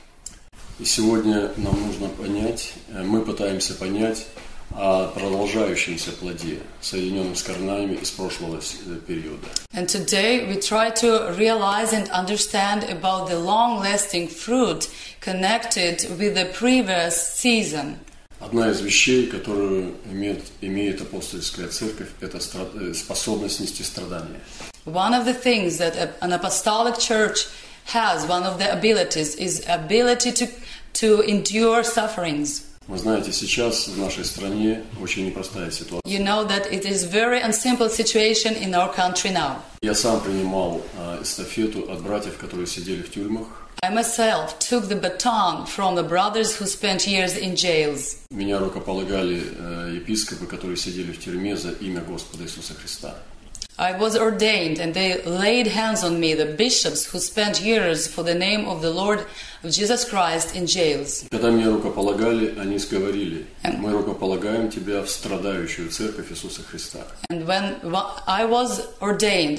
И сегодня нам нужно понять, мы пытаемся понять о продолжающемся плоде, соединенном с корнями из прошлого периода. And today we try to realize and understand about the long-lasting fruit connected with the previous season. Одна из вещей, которую имеет апостольская церковь, это способность нести страдания. One of the things that an apostolic church has, one of the abilities, is ability to endure sufferings. Вы знаете, сейчас в нашей стране очень непростая ситуация. You know that it is very unsimple situation in our country now. Я сам принимал эстафету от братьев, которые сидели в тюрьмах. I myself took the baton from the brothers who spent years in jails. Меня рукополагали епископы, которые сидели в тюрьме за имя Господа Иисуса Христа. I was ordained and they laid hands on me, the bishops who spent years for the name of the Lord of Jesus Christ in jails. Когда меня рукополагали, они говорили: мы рукополагаем тебя в страдающую церковь Иисуса Христа. And when I was ordained,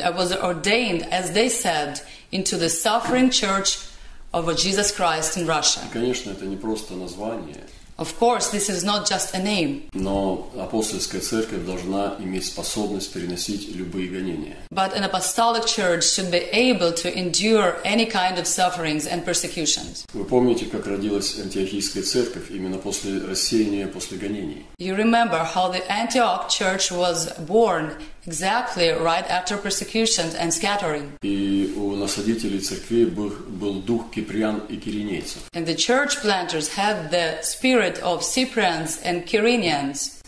as they said, into the suffering church of Jesus Christ in Russia. И, конечно, это не просто название. Of course, this is not just a name. Но апостольская церковь должна иметь способность переносить любые гонения. But an apostolic church should be able to endure any kind of sufferings and persecutions. Вы помните, как родилась Антиохийская церковь именно после рассеяния, после гонений? You remember how the Antioch church was born exactly right after persecutions and scattering. И у насадителей церкви был дух киприан и киринейцев. And the church planters had the spirit of Cyprians and Cyrenians.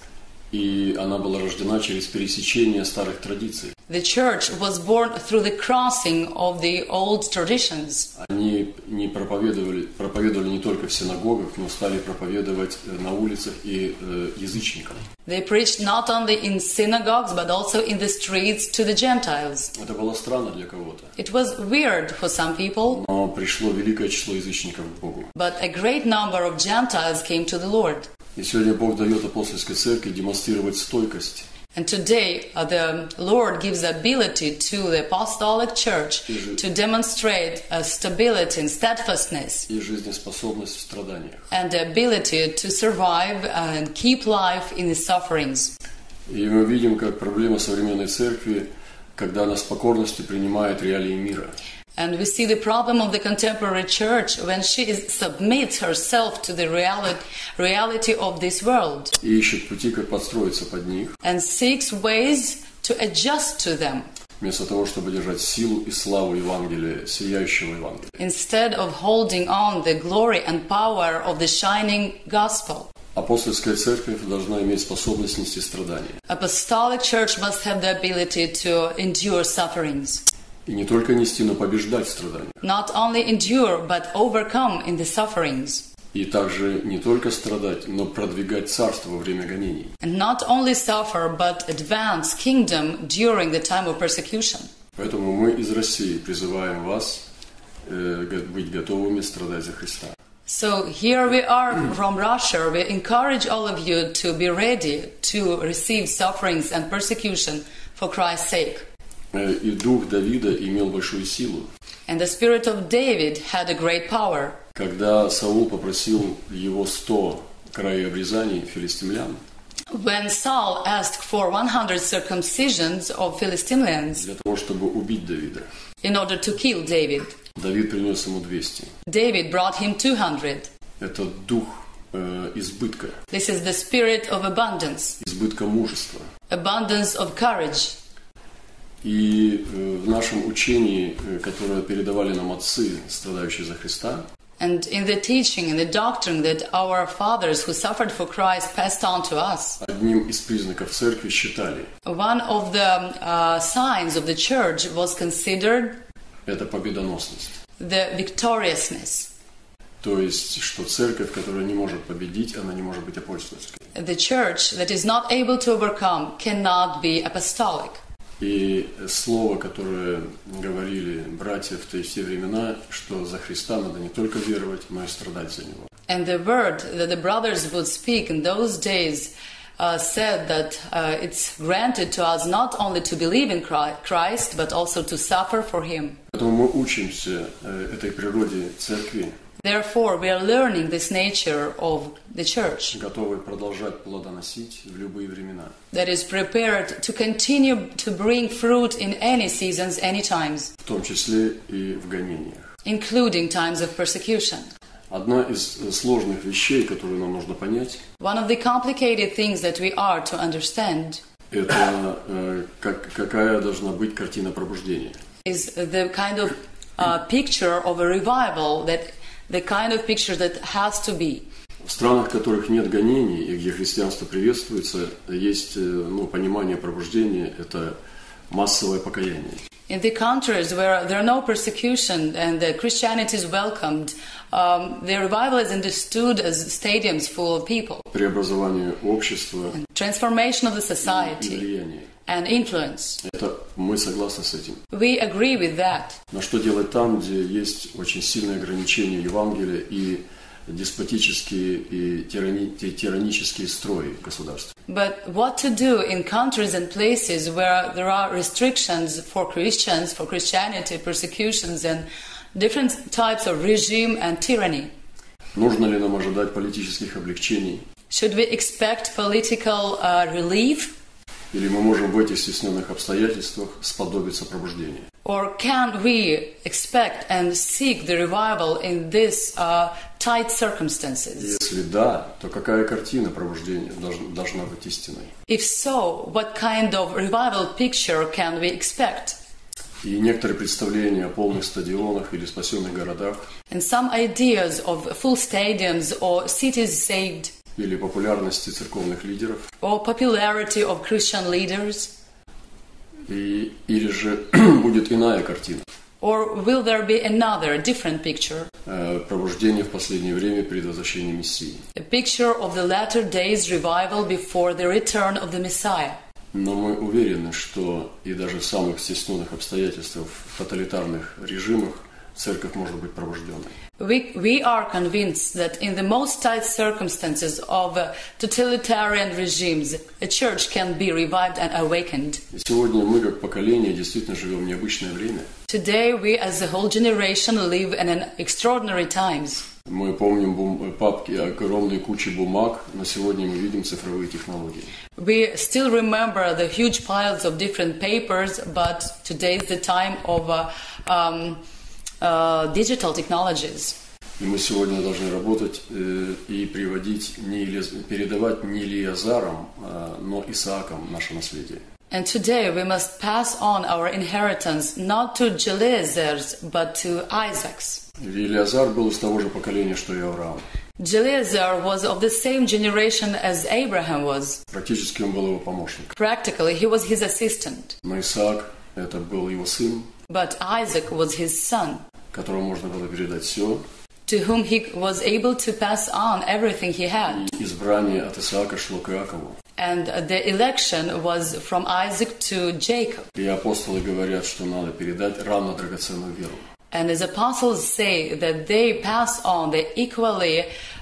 И она была рождена через пересечение старых традиций. The church was born through the crossing of the old traditions. Они не проповедовали не только в синагогах, но стали проповедовать на улицах и язычникам. They preached not only in synagogues, but also in the streets to the Gentiles. Это было странно для кого-то. It was weird for some people. Но пришло великое число язычников к Богу. But a great number of Gentiles came to the Lord. И сегодня Бог дает апостольской церкви демонстрировать стойкость. And today, the Lord gives the ability to the apostolic church to demonstrate stability and steadfastness, и жизнеспособность в страданиях. And the ability to survive and keep life in the sufferings. И мы видим, как проблема современной церкви, когда она с покорностью принимает реалии мира. And we see the problem of the contemporary church when she submits herself to the reality of this world. И ищет пути, как подстроиться под них. And seeks ways to adjust to them. Вместо того, чтобы держать силу и славу Евангелия, сияющего Евангелия. Instead of holding on the glory and power of the shining gospel. Апостольская церковь должна иметь способность нести страдания. Apostolic church must have the ability to endure sufferings. И не только нести, но побеждать в страданиях. Not only endure, but overcome in the sufferings. И также не только страдать, но продвигать царство во время гонений. And not only suffer, but advance kingdom during the time of persecution. Поэтому мы из России призываем вас быть готовыми страдать за Христа. So here we are from Russia. We encourage all of you to be ready to receive sufferings and persecution for Christ's sake. И дух Давида имел большую силу. And the spirit of David had a great power. Когда Саул попросил его 100 краеобрезаний филистимлян, when Saul asked for 100 circumcisions of Philistines, для того, чтобы убить Давида, in order to kill David, Давид принес ему 200. David brought him 200. Это дух избытка. This is the spirit of abundance. Избытка мужества. Abundance of courage. И в нашем учении, которое передавали нам отцы, страдающие за Христа, and in the teaching, in the doctrine that our fathers who suffered for Christ passed on to us, одним из признаков церкви считали, one of the signs of the church was considered это победоносность. The victoriousness. То есть, что церковь, которая не может победить, она не может быть апостольской. The church that is not able to overcome cannot be apostolic. И слово, которое говорили братья в те времена, что за Христа надо не только веровать, но и страдать за Него. And the word that the brothers would speak in those days said that it's granted to us not only to believe in Christ, but also to suffer for Him. Поэтому мы учимся этой природе церкви. Therefore, we are learning this nature of the church. Готовы продолжать плодоносить в любые времена. That is prepared to continue to bring fruit in any seasons, any times. В том числе и в гонениях. Including times of persecution. Одна из сложных вещей, которую нам нужно понять, one of the complicated things that we are to understand, это какая должна быть картина пробуждения. Is the kind of picture of a revival, that the kind of picture that has to be. В странах, в которых нет гонений и где христианство приветствуется, есть понимание пробуждения, это массовое покаяние. In the countries where there are no persecution and the Christianity is welcomed, the revival is understood as stadiums full of people. Преобразование общества, transformation of the society, и влияние. And influence. Это мы согласны с этим. We agree with that. Но что делать там, где есть очень сильные ограничения Евангелия и деспотические и тиранические строи в государстве? But what to do in countries and places where there are restrictions for Christians, for Christianity, persecutions and different types of regime and tyranny? Нужно ли нам ожидать политических облегчений? Should we expect political relief? Или мы можем в этих стесненных обстоятельствах сподобиться пробуждения? Or can we expect and seek the revival in these tight circumstances? Если да, то какая картина пробуждения должна быть истинной? If so, what kind of revival picture can we expect? И некоторые представления о полных стадионах или спасенных городах, and some ideas of full stadiums or cities saved, или популярности церковных лидеров, or popularity of Christian leaders, или же будет иная картина. Or will there be another, different picture? Пробуждение в последнее время перед возвращением Мессии. A picture of the latter days revival before the return of the Messiah. Но мы уверены, что и даже в самых стесненных обстоятельствах, в тоталитарных режимах, церковь может быть пробужденной. We are convinced that in the most tight circumstances of totalitarian regimes, a church can be revived and awakened. И сегодня мы, как поколение, действительно живем в необычное время. Today we, as a whole generation, live in an extraordinary times. Мы помним папки, огромные кучи бумаг, но сегодня мы видим цифровые технологии. We still remember the huge piles of different papers, but today is the time of digital technologies. И мы сегодня должны работать и передавать не Елиазарам, но Исаакам наше наследие. And today we must pass on our inheritance not to Eleazar's, but to Isaac's. Елиазар был из того же поколения, что и Авраам. Eleazar was of the same generation as Abraham was. Практически он был его помощник. Practically, he was his assistant. Но Исаак это был его сын. But Isaac was his son, которому можно было передать все. To whom he was able to pass on everything he had. И избрание от Исаака шло к Иакову. And the election was from Isaac to Jacob. И апостолы говорят, что надо передать равно драгоценную веру. And as apostles say that they pass on the equally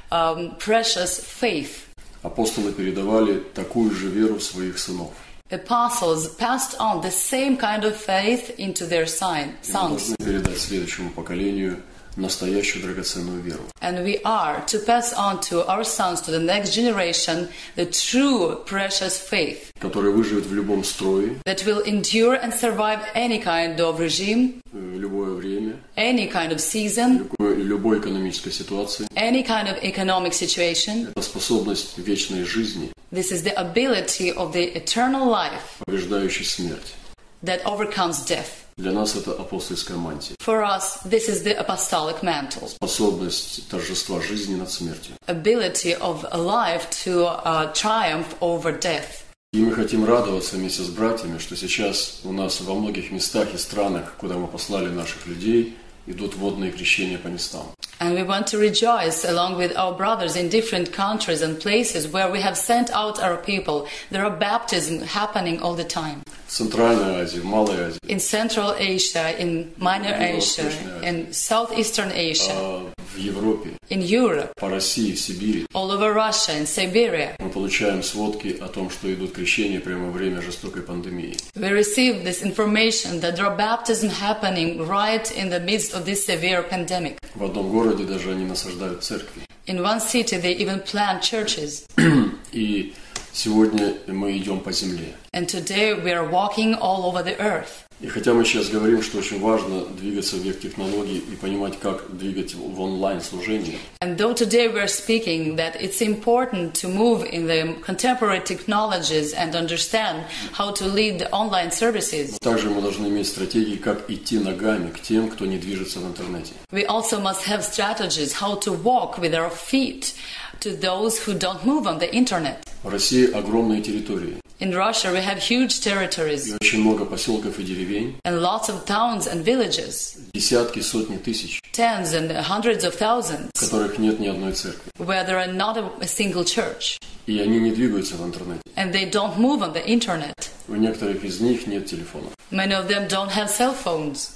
precious faith. Апостолы передавали такую же веру в своих сынов. Apostles passed on the same kind of faith into their sons. Мы должны передать следующему поколению настоящую драгоценную веру. And we are to pass on to our sons, to the next generation, the true precious faith. Который выживет в любом строе. That will endure and survive any kind of regime. В любое время. Any kind of season. Любой экономической ситуации. Any kind of economic situation. Это способность вечной жизни. This is the ability of the eternal life. Побеждающий смерть. That overcomes death. Для нас это апостольская мантия. For us, this is the apostolic mantle. Способность торжества жизни над смертью. Ability of life to triumph over death. И мы хотим радоваться вместе с братьями, что сейчас у нас во многих местах и странах, куда мы послали наших людей, идут водные крещения по местам. And we want to rejoice along with our brothers in different countries and places where we have sent out our people. There are baptisms happening all the time. В Центральной Азии, в Малой Азии. In Central Asia, in Minor Asia, in Southeastern Asia. В Европе. In Europe. По России, в Сибири. All over Russia, in Siberia. Мы получаем сводки о том, что идут крещения прямо во время жестокой пандемии. We receive this information that there are baptisms happening right in the midst of this severe pandemic. В одном городе даже они насаждают церкви. In one city they even plant churches. И сегодня мы идем по земле. And today we are walking all over the earth. И хотя мы сейчас говорим, что очень важно двигаться в век технологий и понимать, как двигать в онлайн-служение. And though today we are speaking that it's important to move in the contemporary technologies and understand how to lead the online services. Также мы должны иметь стратегии, как идти ногами к тем, кто не движется в интернете. We also must have strategies how to walk with our feet to those who don't move on the internet. В России огромные территории. In Russia we have huge territories. И очень много поселков и деревень. And lots of towns and villages. Десятки, сотни тысяч. Tens and hundreds of thousands. В которых нет ни одной церкви. Where there are not a single church. И они не двигаются в интернете. And they don't move on the internet. У некоторых из них нет телефонов. Many of them don't have cell phones.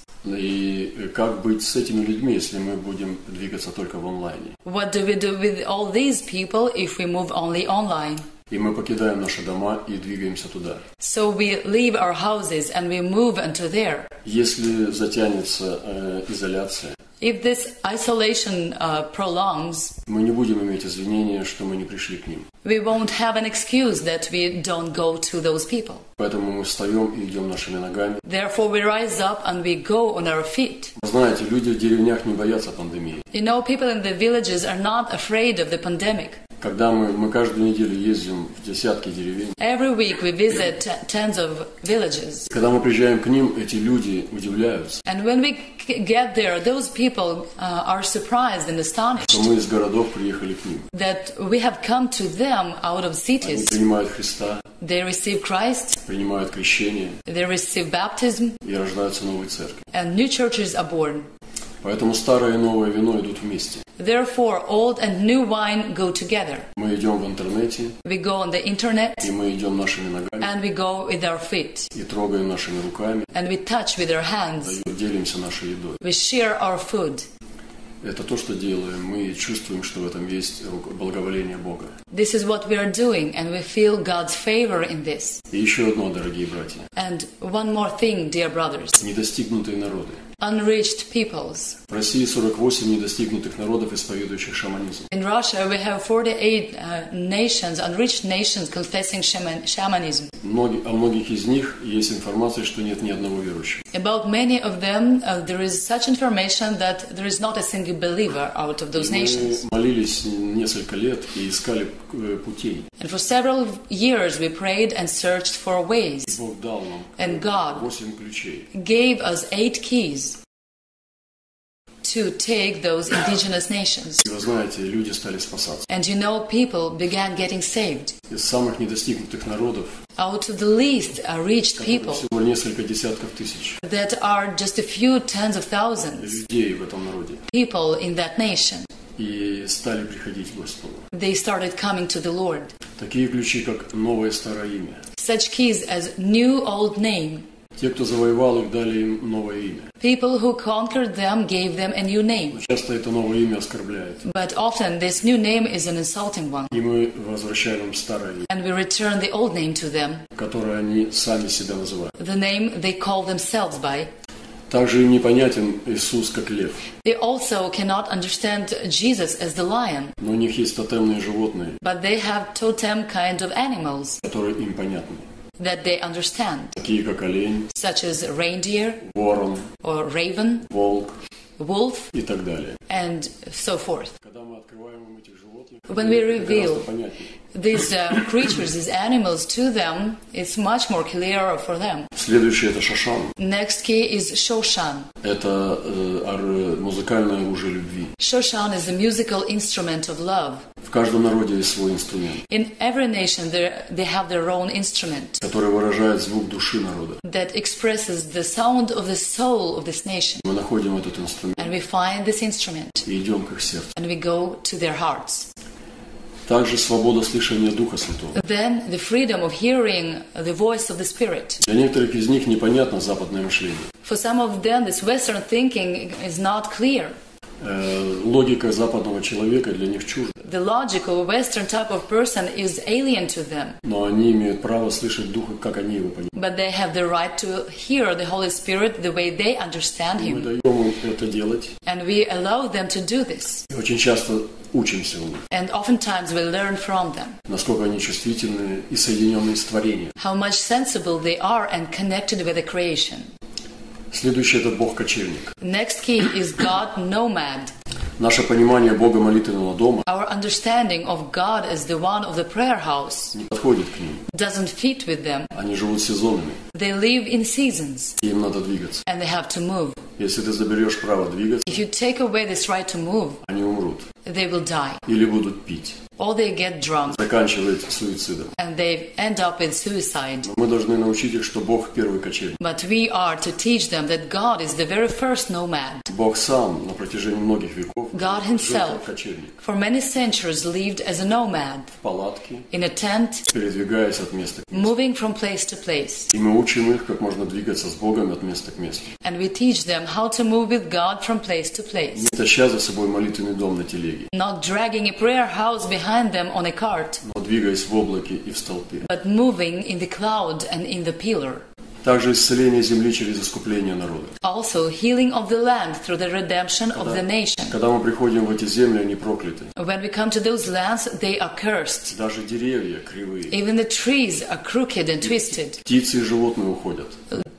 И как быть с этими людьми, если мы будем двигаться только в онлайне? What do we do with all these people if we move only online? И мы покидаем наши дома и двигаемся туда. So we leave our houses and we move into there. Если затянется изоляция, if this isolation prolongs, мы не будем иметь извинения, что мы не пришли к ним. We won't have an excuse that we don't go to those people. Поэтому мы встаем и идем нашими ногами. Therefore we rise up and we go on our feet. Знаете, люди в деревнях не боятся пандемии. You know, people in the villages are not afraid of the pandemic. Когда мы каждую неделю ездим в десятки деревень. Every week we visit tens of villages. Когда мы приезжаем к ним, эти люди удивляются. And when we get there, those people are surprised and astonished. Что мы из городов приехали к ним. That we have come to them out of cities. Они принимают Христа. They receive Christ. Принимают крещение. They receive baptism. И рождаются новые церкви. And new churches are born. Поэтому старое и новое вино идут вместе. Therefore, old and new wine go together. Мы идем в интернете. We go on the internet. И мы идем нашими ногами. And we go with our feet. И трогаем нашими руками. And we touch with our hands. И делимся нашей едой. We share our food. Это то, что делаем. Мы чувствуем, что в этом есть благоволение Бога. This is what we are doing, and we feel God's favor in this. И еще одно, дорогие братья. And one more thing, dear brothers. Недостигнутые народы. Unreached peoples. В России 48 недостигнутых народов, исповедующих шаманизм. In Russia, we have 48 nations, unreached nations, confessing shamanism. О многих из них есть информация, что нет ни одного верующего. About many of them, there is such information that there is not a single believer out of those nations. Мы молились несколько лет и искали путей. And for several years, we prayed and searched for ways. Бог дал нам and God 8 ключей. Gave us 8 keys to take those indigenous nations. И вы знаете, люди стали спасаться. And you know, people began getting saved. Из самых недостигнутых народов, out of the least reached people, всего несколько десятков тысяч, that are just a few tens of thousands, людей в этом народе, people in that nation, и стали приходить к Господу. They started coming to the Lord. Такие ключи, как новое старое имя. Such keys as new old name. Те, кто завоевал их, дали им новое имя. People who conquered them gave them a new name. Часто это новое имя оскорбляет. But often this new name is an insulting one. И мы возвращаем им старое имя. And we return the old name to them. Которое они сами себя называют. The name they call themselves by. Также им непонятен Иисус как лев. They also cannot understand Jesus as the lion. Но у них есть тотемные животные. But they have totem kind of animals. Которые им понятны. That they understand. Такие как олень. Such as reindeer. Ворон. Or raven. Волк. Wolf. И так далее. And so forth. Когда мы открываем им этих животных, when we reveal these creatures, these animals to them, it's much more clearer for them. Следующий это Шошан. Next key is Shoshan. Это музыкальное оружие любви. Shoshan is a musical instrument of love. В каждом народе есть свой инструмент. In every nation they have their own instrument. Который выражает звук души народа. That expresses the sound of the soul of this nation. Мы находим этот инструмент. And we find this instrument. И идем к их сердцу. And we go to their hearts. Также свобода слышания Духа Святого. Then the freedom of hearing the voice of the Spirit. Для некоторых из них непонятно западное мышление. For some of them, this Western thinking is not clear. Логика западного человека для них чужда. The logical Western type of person is alien to them. Но они имеют право слышать Духа, как они его понимают. But they have the right to hear the Holy Spirit the way they understand Him. Мы даем им это делать. And we allow them to do this. И очень часто учимся у них. And oftentimes we learn from them. Насколько они чувствительны и соединенные с творением. How much sensible they are and connected with the creation. Следующий это Бог-кочевник. Next key is God nomad. Наше понимание Бога молитвенного дома Our understanding of God as the one of the prayer house не подходит к ним. Doesn't fit with them. Они живут сезонами. They live in seasons. И им надо двигаться. And they have to move. Если ты заберешь право двигаться, if you take away this right to move, они умрут. They will die. Или будут пить. Or they get drunk. Заканчивает суицидом. And they end up with suicide. Но мы должны научить их, что Бог первый кочевник. But we are to teach them that God is the very first nomad. Бог сам на протяжении многих веков God Himself for many centuries lived as a nomad. В палатке. In a tent. Передвигаясь от места к месту. Moving from place to place. И мы учим их, как можно двигаться с Богом от места к месту. And we teach them how to move with God from place to place. Не таща за собой молитвенный дом на телеге. Not dragging a prayer house behind them on a cart. Но двигаясь в облаке и в столпе. But moving in the cloud and in the pillar. Также исцеление земли через искупление народа. Also healing of the land through the redemption of the nation. Когда мы приходим в эти земли, они прокляты. When we come to those lands, they are cursed. Даже деревья кривые. Even the trees are crooked and twisted. Птицы и животные уходят.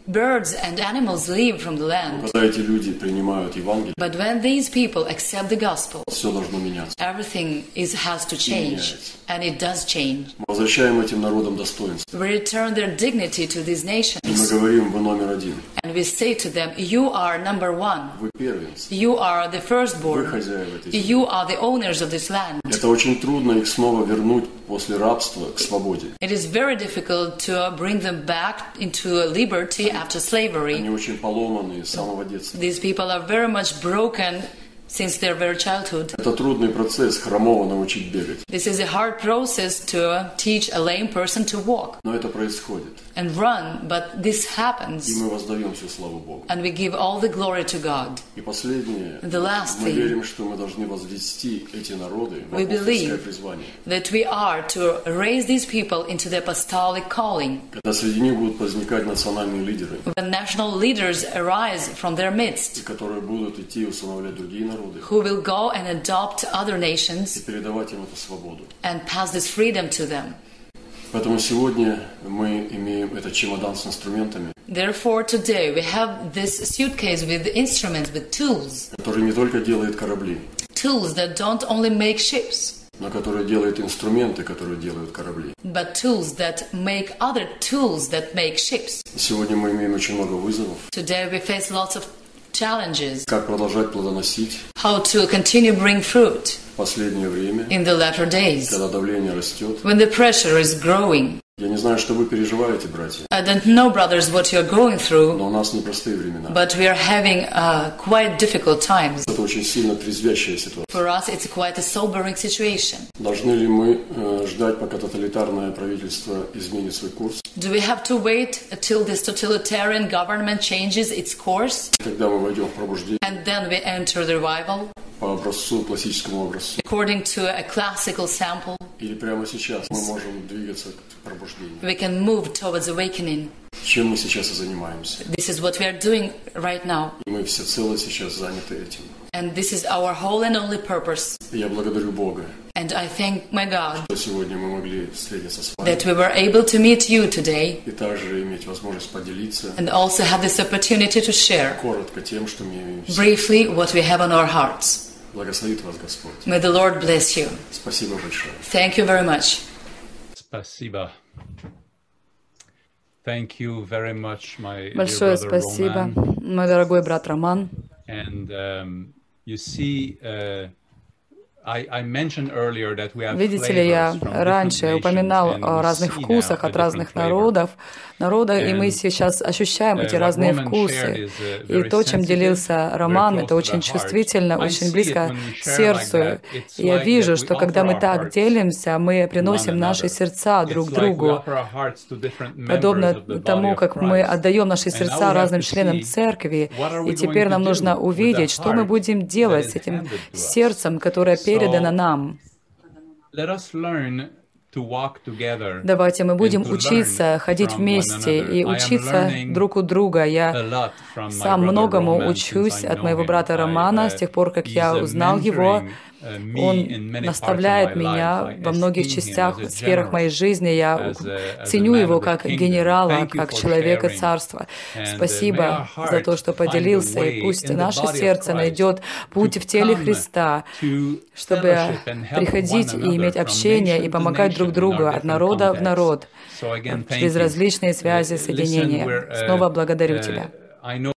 birds and animals live from the land. Когда эти люди принимают Евангелие, but when these people accept the gospel, все должно меняться. Everything has to change, and it does change. Мы возвращаем этим народам достоинство. We return their dignity to these nations. И мы говорим: вы номер один. And we say to them, you are number one. Вы первенцы. You are the firstborn. Вы хозяева этой земли. You are the owners of this land. Это очень трудно их снова вернуть после рабства к свободе. It is very difficult to bring them back into liberty after slavery. Они очень поломаны с самого детства. These people are very much broken since their very childhood. Это трудный процесс хромого научить бегать. This is a hard process to teach a lame person to walk. Но это происходит. And run, but this happens. И мы воздаем всю славу Богу. And we give all the glory to God. И последнее. The last мы thing. верим, что мы должны возвести эти народы в апостольское призвание. That we are to raise these people into the apostolic calling. Когда среди них будут возникать национальные лидеры. When national leaders arise from their midst. И которые будут идти усыновлять другие народы. Who will go and adopt other nations. И передавать им эту свободу. And pass this freedom to them. Поэтому сегодня мы имеем этот чемодан с инструментами. Therefore, today we have this suitcase with instruments, with tools. Который не только делает корабли. Tools that don't only make ships. Но который делает инструменты, которые делают корабли. But tools that make other tools that make ships. Сегодня мы имеем очень много вызовов. Today we face lots of challenges. Как продолжать плодоносить? How to continue bring fruit. В последнее время. In the latter days. Когда давление растет. When the pressure is growing. Я не знаю, что вы переживаете, братья. I don't know, brothers, what you're going through. Но у нас непростые времена. But we are having quite difficult times. Это очень сильно трезвящая ситуация. For us, it's quite a sobering situation. Должны ли мы ждать, пока тоталитарное правительство изменит свой курс? Do we have to wait until this totalitarian government changes its course? Когда мы войдем в пробуждение. And then we enter the revival. По образцу, классическому образцу. According to a classical sample. Или прямо сейчас мы можем двигаться к пробуждению. We can move towards awakening. Чем мы сейчас и занимаемся. This is what we are doing right now. И мы всецело сейчас заняты этим. And this is our whole and only purpose. Я благодарю Бога. And I thank my God. Что сегодня мы могли встретиться с вами. That we were able to meet you today. И также иметь возможность поделиться. And also have this opportunity to share. Коротко тем, что мы имеем. Briefly, what we have on our hearts. Благословит вас Господь. May the Lord bless you. Спасибо большое. Thank you very much. Спасибо. Thank you very much, my Большое dear brother спасибо, Roman. мой дорогой брат Роман. And you see, видите ли, я раньше упоминал о разных вкусах от разных народов, и мы сейчас ощущаем эти разные вкусы. И то, чем делился Роман, это очень чувствительно, очень близко к сердцу. И я вижу, что когда мы так делимся, мы приносим наши сердца друг другу, подобно тому, как мы отдаем наши сердца разным членам церкви. И теперь нам нужно увидеть, что мы будем делать с этим сердцем, которое передано нам. Давайте мы будем учиться ходить вместе и учиться друг у друга. Я сам многому учусь от моего брата Романа с тех пор, как я узнал его. Он наставляет меня во многих частях, сферах моей жизни. Я ценю его как генерала, как человека царства. Спасибо за то, что поделился. И пусть наше сердце найдет путь в теле Христа, чтобы приходить и иметь общение и помогать друг другу от народа в народ через различные связи, соединения. Снова благодарю тебя.